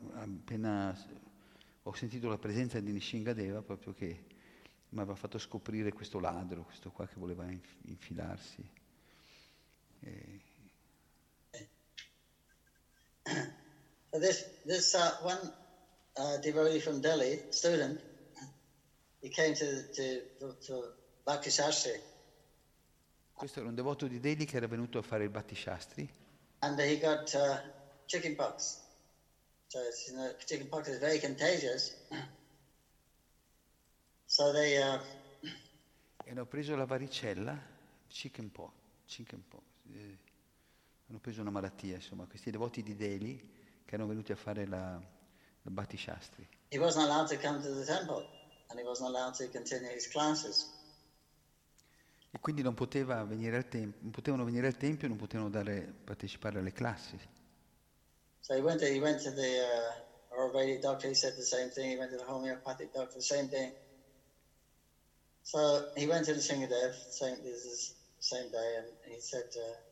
ho sentito la presenza di Nrsingadeva, proprio che mi aveva fatto scoprire questo ladro, questo qua che voleva infilarsi. This one devotee from Delhi, student, he came to Bhakti Shastri. Questo era un devoto di Delhi che era venuto a fare il Bhakti Shastri. And he got chicken pox. So chicken pox is very contagious. So they hanno preso la varicella, chicken pox. Hanno preso una malattia, insomma, questi devoti di Delhi che erano venuti a fare la Bhakti Shastri. He wasn't allowed to come to the temple and he wasn't allowed to continue his classes. E quindi non potevano venire al tempio, non potevano partecipare alle classi. So he went to the Ayurvedic doctor, he said the same thing. He went to the homeopathic doctor, the same thing. So he went to the Nrsingadev, saying this is the same day, and he said,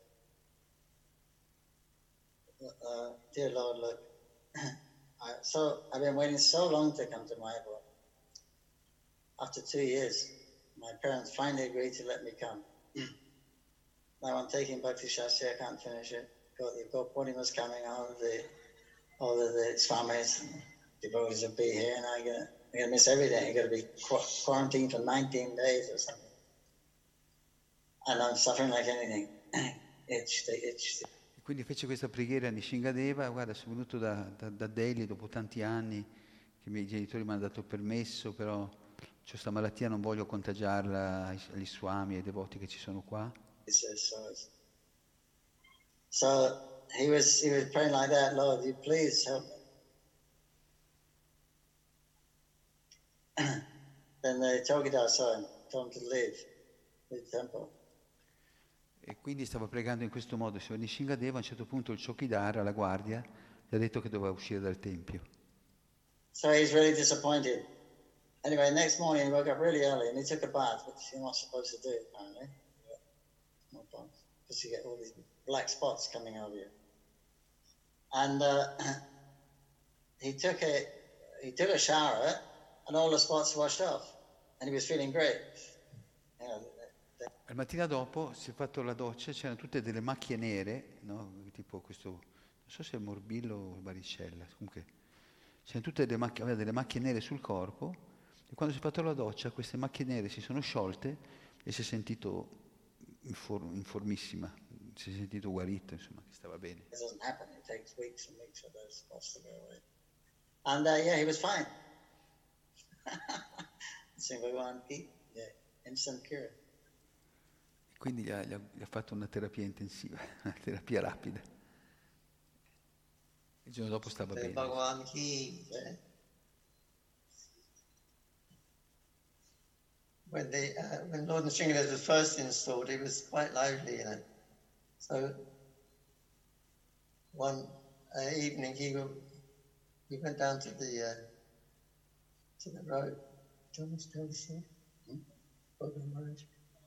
"Dear Lord, look, I've been waiting so long to come to Mayapur. After 2 years, my parents finally agreed to let me come. Now I'm taking Bhakti Shastri, I can't finish it. You've got Purnima's coming, all of the Swamis, devotees will be here, and I'm going to miss everything. I'm going to be quarantined for 19 days or something. And I'm suffering like anything. Itch. Quindi fece questa preghiera a Nrsingadeva: guarda, sono venuto da Delhi dopo tanti anni che i miei genitori mi hanno dato il permesso, però ho questa malattia, non voglio contagiarla agli Swami, ai devoti che ci sono qua. So he was praying like that, Lord, you please help me. Then the Chowkidar told him to leave the temple. E quindi stava pregando in questo modo, Signor Nrsingadeva. A un certo punto il Chowkidar, la guardia, gli ha detto che doveva uscire dal tempio. So he's really disappointed. Anyway, next morning he woke up really early and he took a bath, which you're not supposed to do, apparently. Because you get all these black spots coming over you. And he took a shower and all the spots washed off, and he was feeling great. Al mattina dopo si è fatto la doccia, c'erano tutte delle macchie nere, no? Tipo questo, non so se è morbillo o varicella, comunque c'erano tutte aveva delle macchie nere sul corpo e quando si è fatto la doccia queste macchie nere si sono sciolte e si è sentito informissima, si è sentito guarito, insomma, che stava bene. It doesn't happen. It takes weeks and weeks for those spots to go away. And yeah, he was fine. Sing Bhagavan Ki, yeah, instant cure. Quindi gli ha fatto una terapia intensiva, una terapia rapida. Il giorno dopo stava bene. Bhagavan Ki. Yeah. When Lord Nrsimhadev was first installed, he was quite lively, you know. So one evening he went down to the road. Do you want me to tell the story? Bhagavan Maharaj.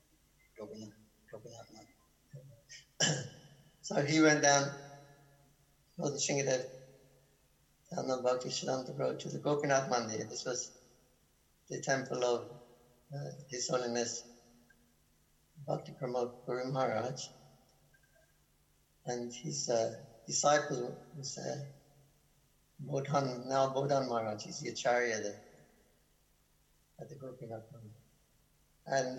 So he went down, Lord Nrsimhadev, down the Bhakti Siddhanta road to the Gopinath Mandir. This was the temple of His Holiness Bhakti Pramod Guru Maharaj. And his disciple was Bodhan Maharaj. He's the Acharya there at the Gopinath Mandir. And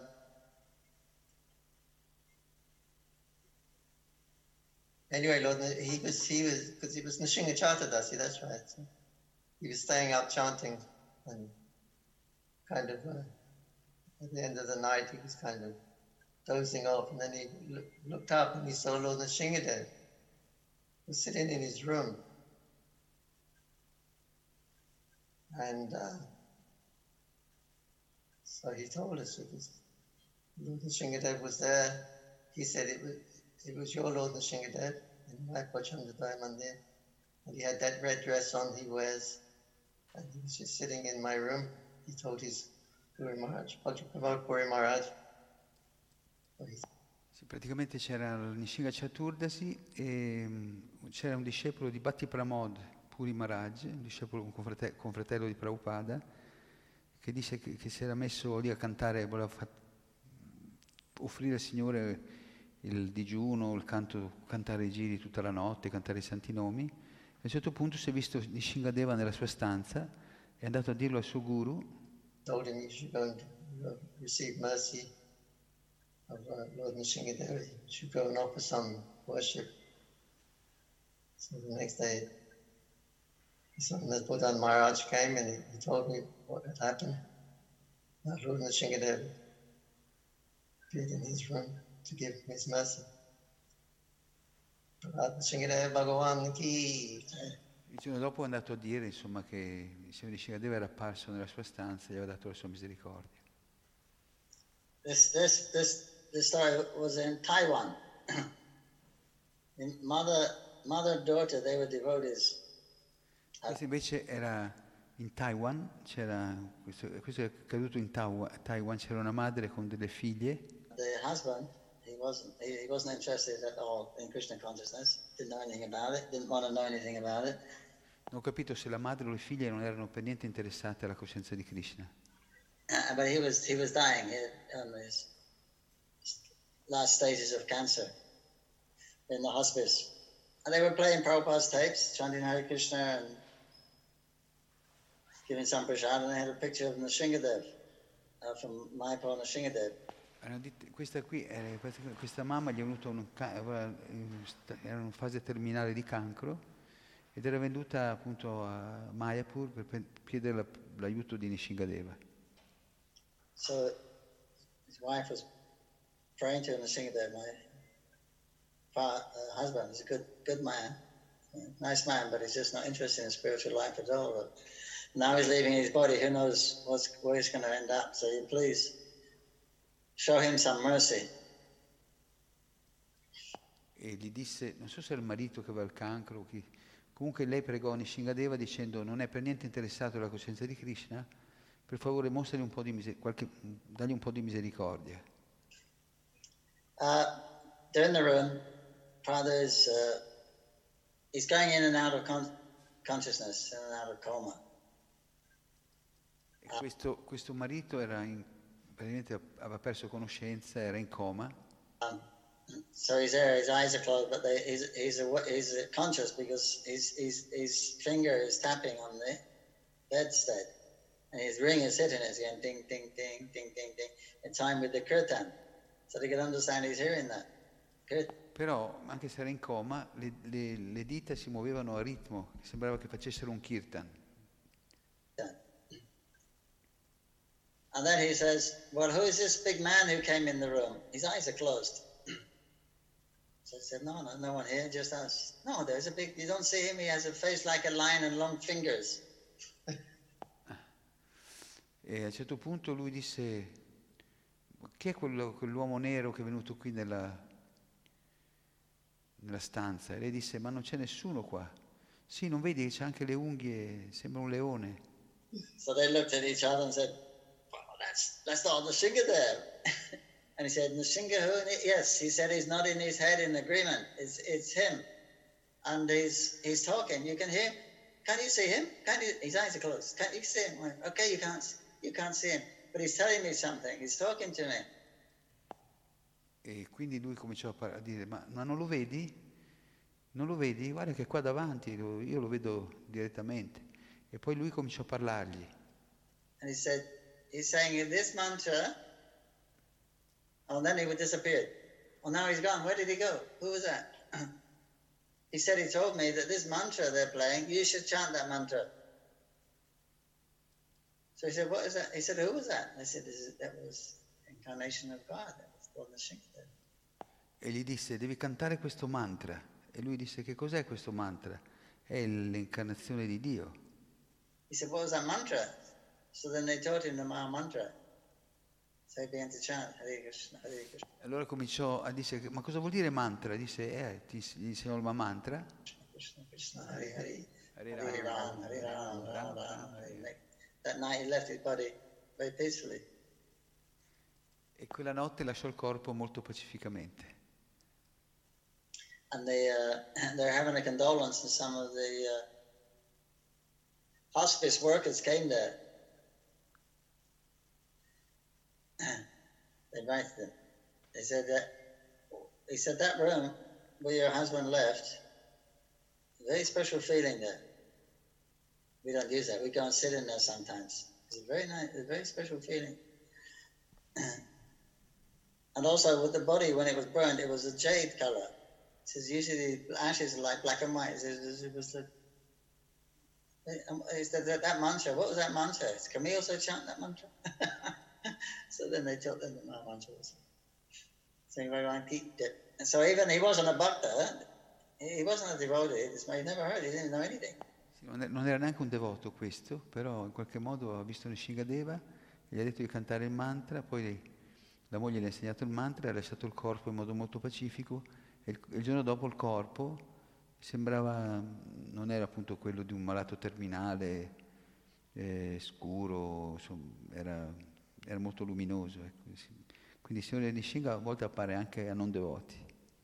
anyway, Lord, he was because he was Nrsimha Chaturdasi, that's right. So he was staying up chanting, and kind of at the end of the night he was kind of dozing off, and then he looked up and he saw Lord Nrsimhadev was sitting in his room, and so he told us that Lord Nrsimhadev was there. He said it was your Lord Nrsimhadev in my Pachandadaya Mandir, and he had that red dress on he wears, and he was just sitting in my room. He told his Guru Maharaj, Bhakti Pramod Puri Maharaj. Sì, praticamente c'era il Nrsimha Chaturdasi e c'era un discepolo di Bhakti Pramod Puri Maharaj, un discepolo confratello di Prabhupada, che disse che si era messo lì a cantare, voleva offrire al Signore il digiuno, il canto, cantare i giri tutta la notte, cantare i santi nomi. A un certo punto si è visto Nishingadeva nella sua stanza, è andato a dirlo al suo guru. Told him you should go and receive mercy of Lord Nrsimhadev. You should go and offer some worship. So the next day, his son Bodhan Maharaj came and he told me what had happened. Lord Nrsimhadev appeared in his room to give him his mercy. Lord Nrsimhadev Bhagavan Ki. Il giorno dopo è andato a dire, insomma, che il Signore Nishingadeva era apparso nella sua stanza e gli aveva dato la sua misericordia. This story was in Taiwan. In mother and daughter, they were devotees. Questo invece era in Taiwan, questo è accaduto in Taiwan, c'era una madre con delle figlie. The husband, he wasn't interested at all in Krishna consciousness, didn't know anything about it, didn't want to know anything about it. Non ho capito se la madre o le figlie non erano per niente interessate alla coscienza di Krishna. But he was dying on his last stages of cancer in the hospice. And they were playing Prabhupada's tapes, chanting Hare Krishna and giving some prasad, and they had a picture of Nrsimhadev from Mayapur Nrsimhadev. Questa mamma gli è venuto era in fase terminale di cancro ed era venuta appunto a Mayapur per chiedere l'aiuto di Nrsimhadeva. So his wife was praying to Nrsimhadev. My husband is a good man, nice man, but he's just not interested in spiritual life at all. But now he's leaving his body. Who knows where he's going to end up? So you please show him some mercy. E gli disse, non so se era il marito che aveva il cancro, comunque lei pregò Nrsimhadeva dicendo non è per niente interessato alla coscienza di Krishna, per favore mostragli un po' di dagli un po' di misericordia. They're in the room. Father he's going in and out of consciousness, in and out of coma. E questo marito era praticamente aveva perso conoscenza, era in coma. So he's there, his eyes are closed, but he's conscious because his finger is tapping on the bedstead. And his ring is hitting it again, ding, ding, ding, ding, ding, ding, in time with the kirtan. So they can understand he's hearing that. Però, anche se era in coma, le dita si muovevano a ritmo, sembrava che facessero un kirtan. And then he says, well, who is this big man who came in the room? His eyes are closed. So I said, no one here, just us. No, there's a big, you don't see him, he has a face like a lion and long fingers. E a un certo punto lui disse, chi è quell'uomo nero che è venuto qui nella stanza? E lei disse, ma non c'è nessuno qua. Sì, non vedi che c'ha anche le unghie, sembra un leone. So they looked at each other and said, well, that's not Nrsinga there. And he said, Nrsinga who? Yes, he said he's nodding his head in agreement. It's him. And he's talking. You can hear him. Can't you see him? His eyes are closed. Can't you see him? Well, okay, you can't see him. But he's telling me something. He's talking to me. E quindi lui cominciò a dire, ma non lo vedi? Non lo vedi? Guarda che è qua davanti, io lo vedo direttamente. E poi lui cominciò a parlargli. And he said, he's saying this mantra. Oh, and then he would disappear. Well, now he's gone. Where did he go? Who was that? He said he told me that this mantra they're playing, you should chant that mantra. So he said, what is that? He said, who was that? I said, that was incarnation of God. That was called Nrsinga. E gli disse, devi cantare questo mantra. E lui disse, che cos'è questo mantra? È l'incarnazione di Dio. He said, what was that mantra? So then they taught him the Maha mantra. So he began to chant, Hare Krishna, Hare Krishna. Allora cominciò a dire, ma cosa vuol dire mantra? Disse, gli insegnò il mantra. Krishna, Krishna, Hare Hare, Hare Hare Ram, Hare Ram, Ram Ram, Hare Hare. That night he left his body very peacefully. E quella notte lasciò il corpo molto pacificamente. And they're having a condolence, and some of the hospice workers came there. They invited them. They said that room where your husband left, a very special feeling there. We don't use that. We go and sit in there sometimes. It's a very nice, a very special feeling. And also with the body, when it was burned, it was a jade color. It says usually the ashes are like black and white. It was that mantra. What was that mantra? Can we also chant that mantra? So then they taught them the mantra. So and so even he wasn't a bhakta. He wasn't a devotee. He never heard. He didn't know anything. Non era neanche un devoto questo, però in qualche modo ha visto Nrsingadeva, gli ha detto di cantare il mantra, poi la moglie gli ha insegnato il mantra, ha lasciato il corpo in modo molto pacifico e il giorno dopo il corpo sembrava, non era appunto quello di un malato terminale, scuro, insomma, era molto luminoso. Ecco. Quindi il Signore Nrsinga a volte appare anche a non devoti.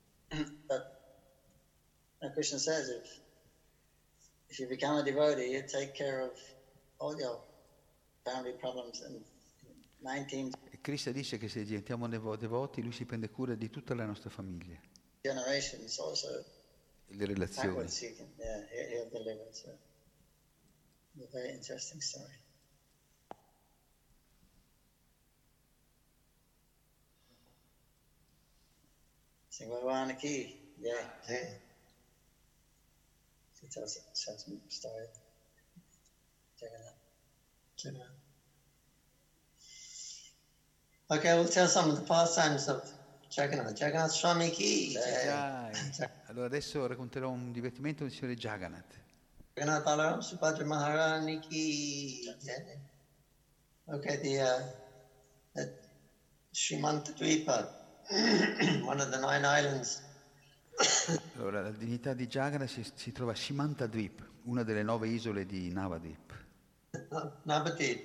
But Krishna says if you become a devotee, you take care of all your family problems and 19 E Krishna dice che se diventiamo devoti, lui si prende cura di tutta la nostra famiglia. generations also. Le relazioni. Backwards, he'll deliver. So, a very interesting story. Sing Bhagwan ki, yeah. She tells some story. Jagannath. Okay, we'll tell some of the pastimes of Jagannath. Jagannath Swami ki. Allora adesso racconterò un divertimento del Signore Jagannath. Jagannath Balaram Subhadra Maharani ki. Okay, the Srimanta Dvipa, one of the 9 islands. Allora, la divinità di Jagannath si trova a Simantadvip, una delle 9 isole di Navadvip. Navadvip.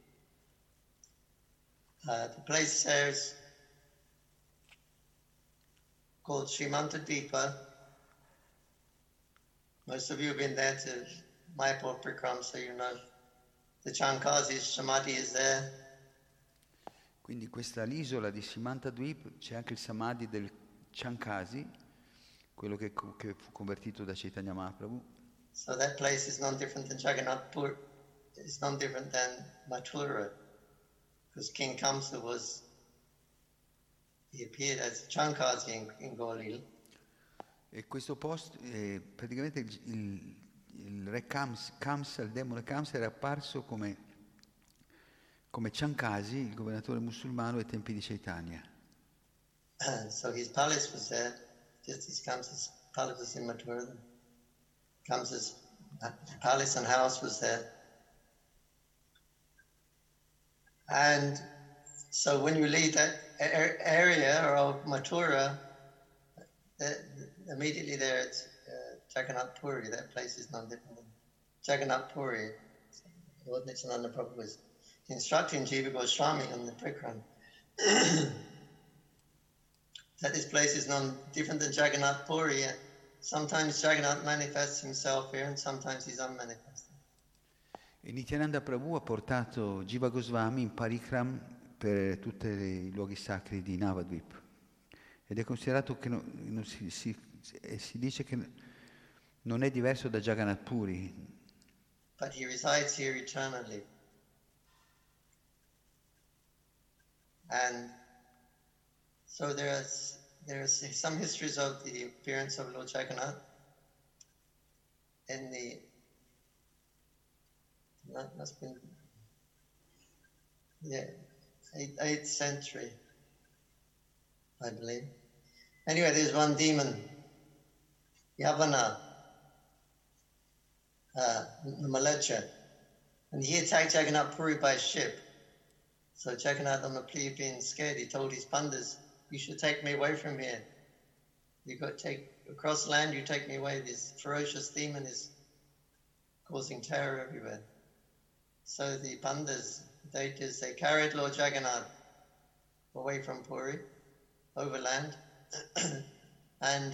The place there is called Srimantadvipa. Most of you have been there to Mayapur Prikram, so you know the Chankazi's Samadhi is there. Quindi l'isola di Simantadvip c'è anche il Samadhi del Chankasi, quello che fu convertito da Chaitanya Mahaprabhu. So that place is non different than Jagannath Puri. It's non different than Mathura, because King Kamsa he appeared as Chankasi in Golil. E questo posto, praticamente il re Kamsa, il demone Kamsa era apparso come Chankasi, il governatore musulmano ai tempi di Chaitanya. So his palace was there, just as Kamsa's palace was in Mathura. Kamsa's palace and house was there. And so when you leave that area of Mathura, immediately there it's Jagannath Puri. That place is non different than Jagannath Puri. Lord Nityananda Prabhu was instructing Jiva Goswami on the Prikran that this place is non different than Jagannath Puri. Sometimes Jagannath manifests himself here and sometimes he's unmanifested. E Nityananda Prabhu ha portato Jiva Goswami in parikram per tutti i luoghi sacri di Navadvip. Ed è considerato che si dice che non è diverso da Jagannath Puri. But he resides here eternally. And so there are some histories of the appearance of Lord Jagannath in the must be 8th century, I believe. Anyway, there's one demon, Yavana, Malecha, and he attacked Jagannath Puri by ship. So Jagannath, on the plea of being scared, he told his pandas, "You should take me away from here. You got to take across land. You take me away. This ferocious demon is causing terror everywhere." So the pandas, they carried Lord Jagannath away from Puri, overland, and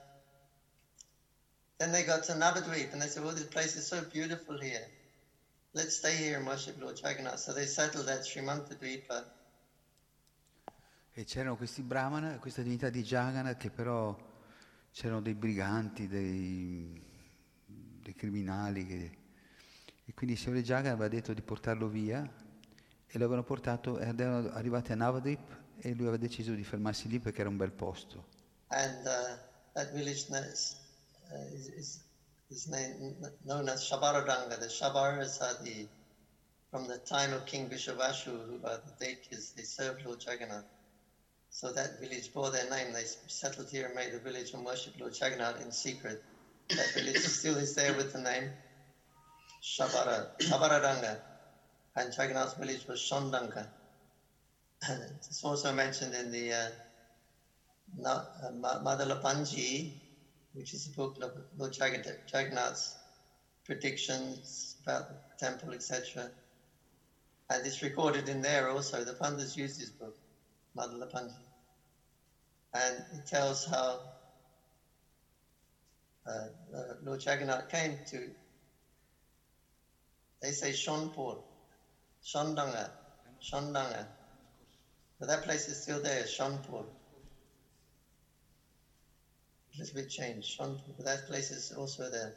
then they got to Navadvip, and they said, "Well, this place is so beautiful here. Let's stay here and worship Lord Jagannath." So they settled at Srimantadvipa. E c'erano questi brahmana, questa divinità di Jagannath, che però c'erano dei briganti, dei criminali, e quindi il Signore Jagannath aveva detto di portarlo via, e lo avevano portato, e erano arrivati a Navadvip, e lui aveva deciso di fermarsi lì perché era un bel posto. And that village is known as Shabaradanga. The Shabaras are from the time of King Vishwavashu, who are the deities, they served Lord Jagannath. So that village bore their name. They settled here and made a village and worshipped Lord Jagannath in secret. That village still is there with the name Shabaradanga. And Jagannath's village was Shondanka. It's also mentioned in the Madhalapanji, which is a book of Lord Jagannath's predictions about the temple, etc. And it's recorded in there also. The Pandas use this book, Madhalapanji. And it tells how Lord Jagannath came to, they say Shonpur, Shondanga. But that place is still there, Shonpur. A little bit changed, Shonpur, but that place is also there.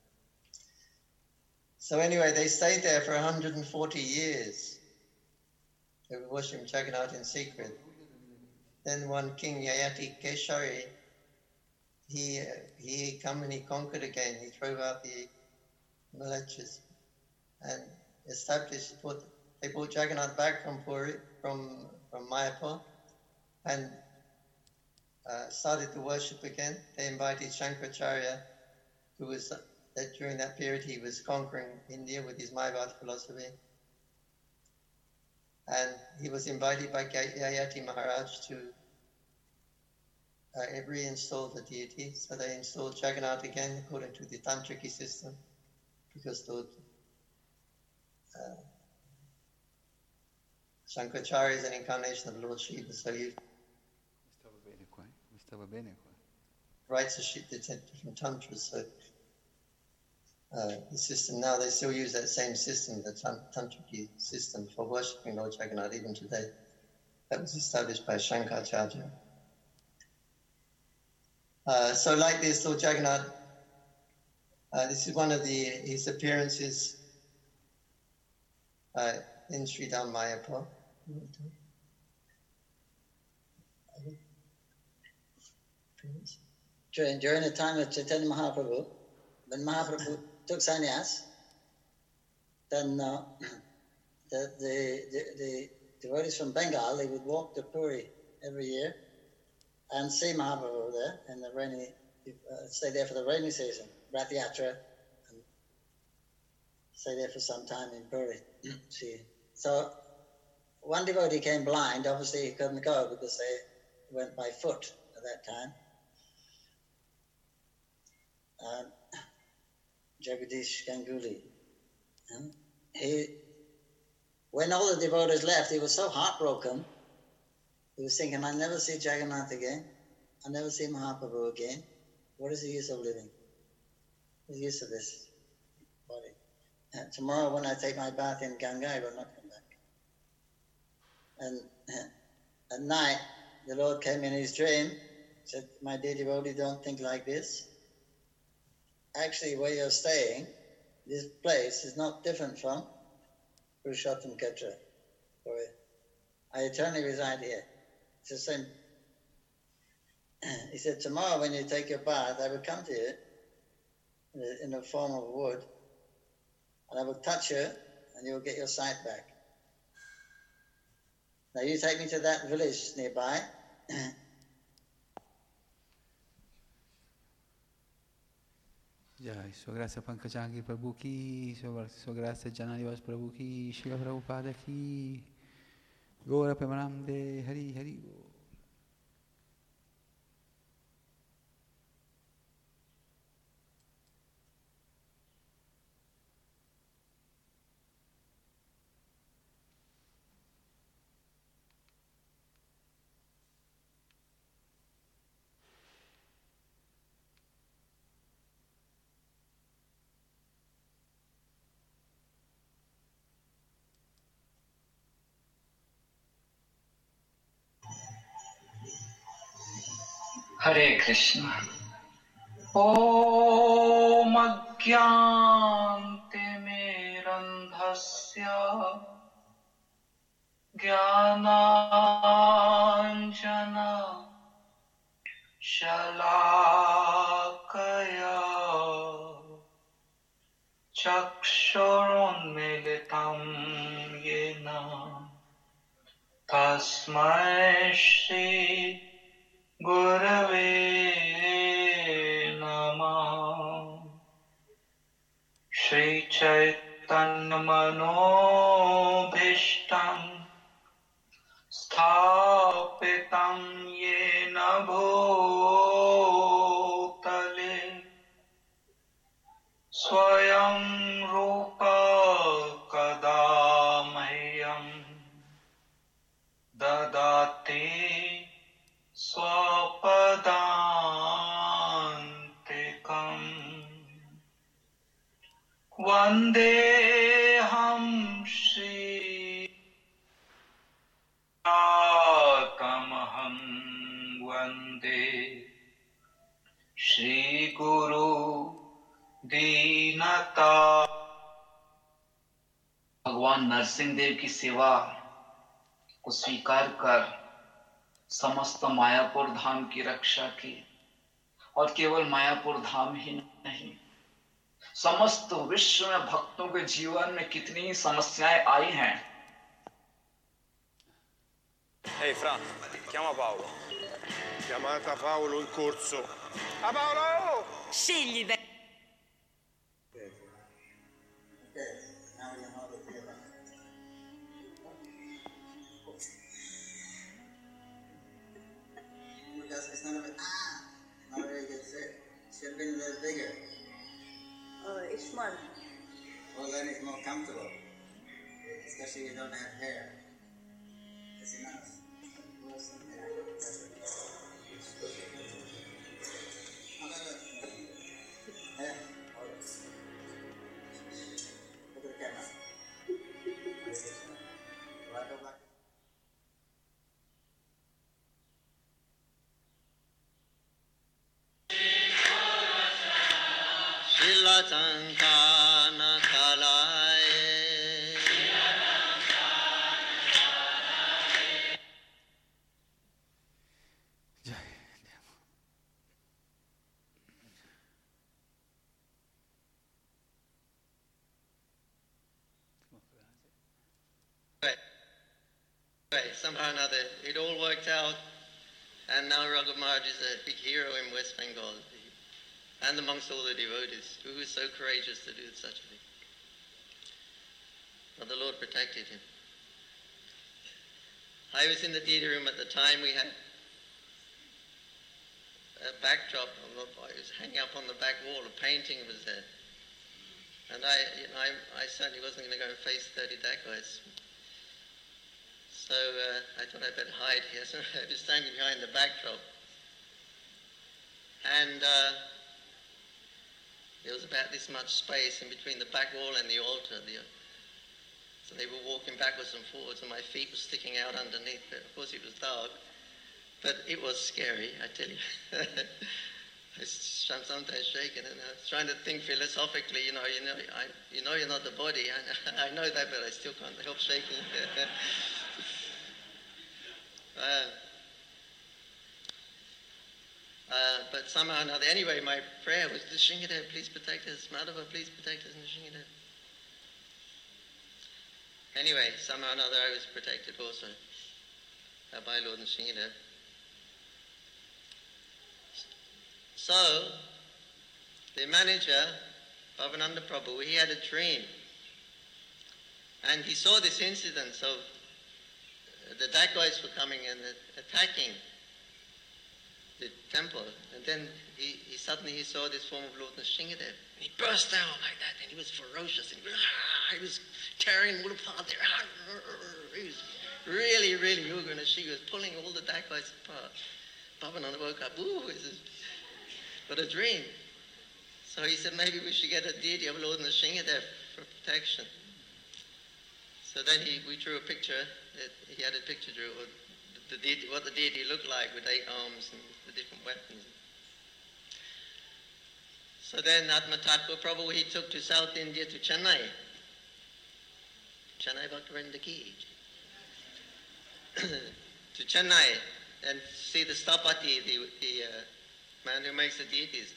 So anyway, they stayed there for 140 years. They were worshipping Jagannath in secret. Then one king, Yayati Keshari, he come and he conquered again. He drove out the Malechas and established, they brought Jagannath back from Puri, from Mayapur, and started to worship again. They invited Shankaracharya, who was, during that period he was conquering India with his Mayavad philosophy. And he was invited by Yayati Maharaj to reinstall the deity. So they installed Jagannath again according to the Tantriki system, because Lord Shankaracharya is an incarnation of Lord Shiva. So he writes the different tantras. So the system now, they still use that same system, the Tantriki system, for worshipping Lord Jagannath even today. that was established by Shankaracharya. So like this, Lord Jagannath, this is one of his appearances in Sri Dham Mayapur. During the time of Chaitanya Mahaprabhu, when Mahaprabhu took sannyas, then the devotees from Bengal, they would walk to Puri every year and see Mahaprabhu there in the rainy, stay there for the rainy season, Rath Yatra, and stay there for some time in Puri. See. So one devotee came blind, obviously he couldn't go because they went by foot at that time. Jagadish Ganguly. When all the devotees left, he was so heartbroken. He was thinking, I'll never see Jagannath again. I'll never see Mahaprabhu again. What is the use of living? What's the use of this body? Tomorrow when I take my bath in Ganga, I will not come back. And at night, the Lord came in his dream, said, my dear devotee, don't think like this. Actually, where you're staying, this place is not different from Purushottam Kshetra. I eternally reside here. It's the same. He said, tomorrow when you take your bath, I will come to you in the form of wood, and I will touch you, and you will get your sight back. Now you take me to that village nearby. Jai, Sua Grazia Pankajanghi Prabhu Ki, Sua Grazia Jananivas Prabhu Ki, Srila Prabhupada Ki, Gora Premanande Hari Hari. Hare Krishna. Om Agyante Mirandhasya Jnananjana Shalakaya Chakshurunmilitam Yena Tasmai Shri Gurave Namah. Shri Chaitanya Manobhishtam Sthapitam Yena Bhutale Swayam Rupa Kadamahyam Dadati Swapadantikam Vandeham Shri Atamaham Vande Shri Guru Dinata. भगवान नरसिंह देव की सेवा को स्वीकार कर समस्त मायापुर धाम की रक्षा की, और केवल मायापुर धाम ही नहीं, समस्त विश्व में भक्तों के जीवन में कितनी समस्याएं आई हैं. Ehi Fra, chiama Paolo. Chiamata Paolo in corso. Ah Paolo! Scegli bene. It's not a very good fit. Should have been a little bigger. Oh, it's small. Well, then it's more comfortable. Especially if you don't have hair. That's enough. Look at the camera. Santana Kalae. Anyway, somehow or another, it all worked out, and now Raghuv Maharaj is a big hero in West Bengal, and amongst all the devotees, who was so courageous to do such a thing. But the Lord protected him. I was in the theatre room at the time. We had a backdrop. It was hanging up on the back wall. A painting was there. And I certainly wasn't going to go and face 30 dacoits. So I thought I'd better hide here. So I was standing behind the backdrop. And there was about this much space in between the back wall and the altar. So they were walking backwards and forwards, and my feet were sticking out underneath. But of course, it was dark. But it was scary, I tell you. I'm sometimes shaken, and I was trying to think philosophically. You know, you're not the body. I know that, but I still can't help shaking. But somehow or another, anyway, my prayer was, Nrsingadev, please protect us. Madhava, please protect us, Nrsingadev. Anyway, somehow or another, I was protected also by Lord Nrsingadev. So, the manager, Bhavananda Prabhu, he had a dream. And he saw this incident of the dacoits were coming and attacking the temple. And then he suddenly saw this form of Lord Nrsingadev. And he burst down like that, and he was ferocious. And he was tearing all apart there. He was really, really Ugra Nrsinga. He was pulling all the dacoits apart. Bhavananda woke up, what a dream. So he said, maybe we should get a deity of Lord Nrsingadev for protection. So then we drew a picture. He had a picture drew of what the deity looked like with 8 arms and the different weapons. So then Atma Tattva Prabhu, he took to South India, to Chennai. Chennai Bhaktivinoda Ki. To Chennai and see the Stapati, the man who makes the deities.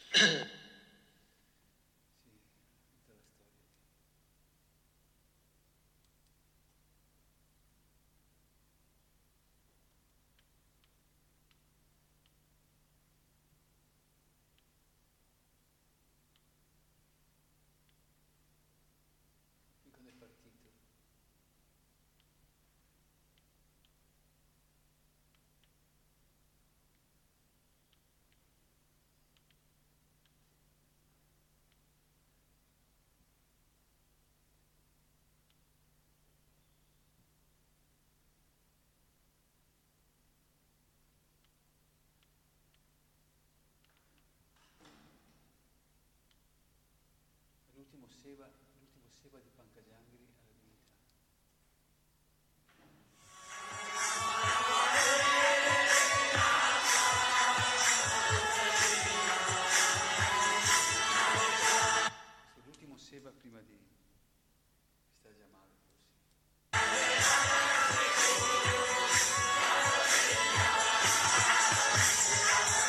L'ultimo seva di Pankajangiri alla divinità. L'ultimo seva prima di Stagia Male,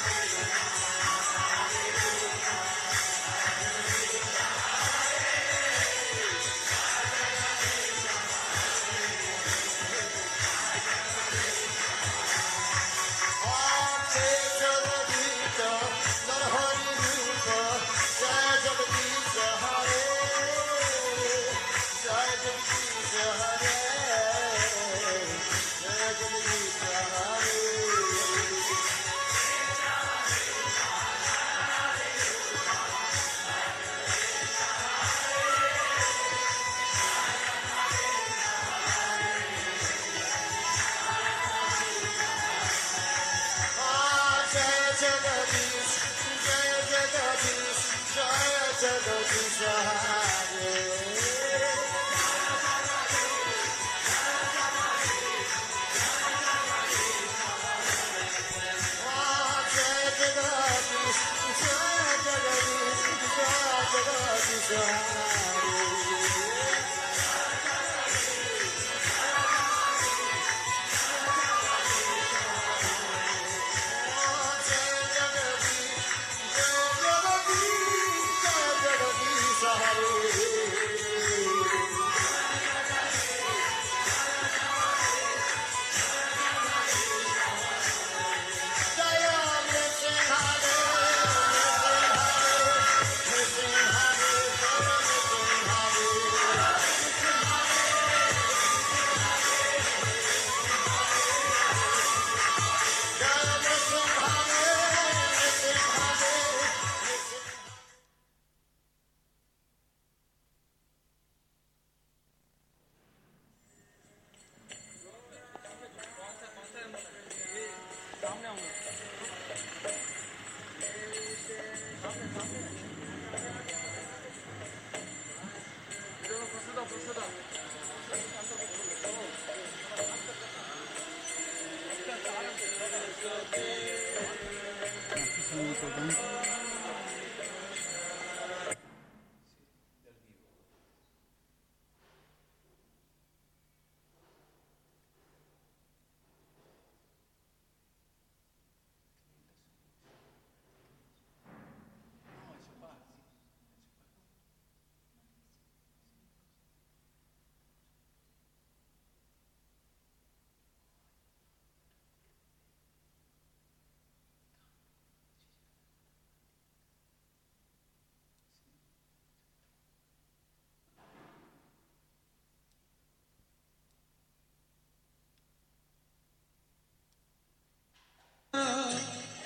forse.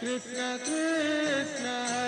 Krishna Krishna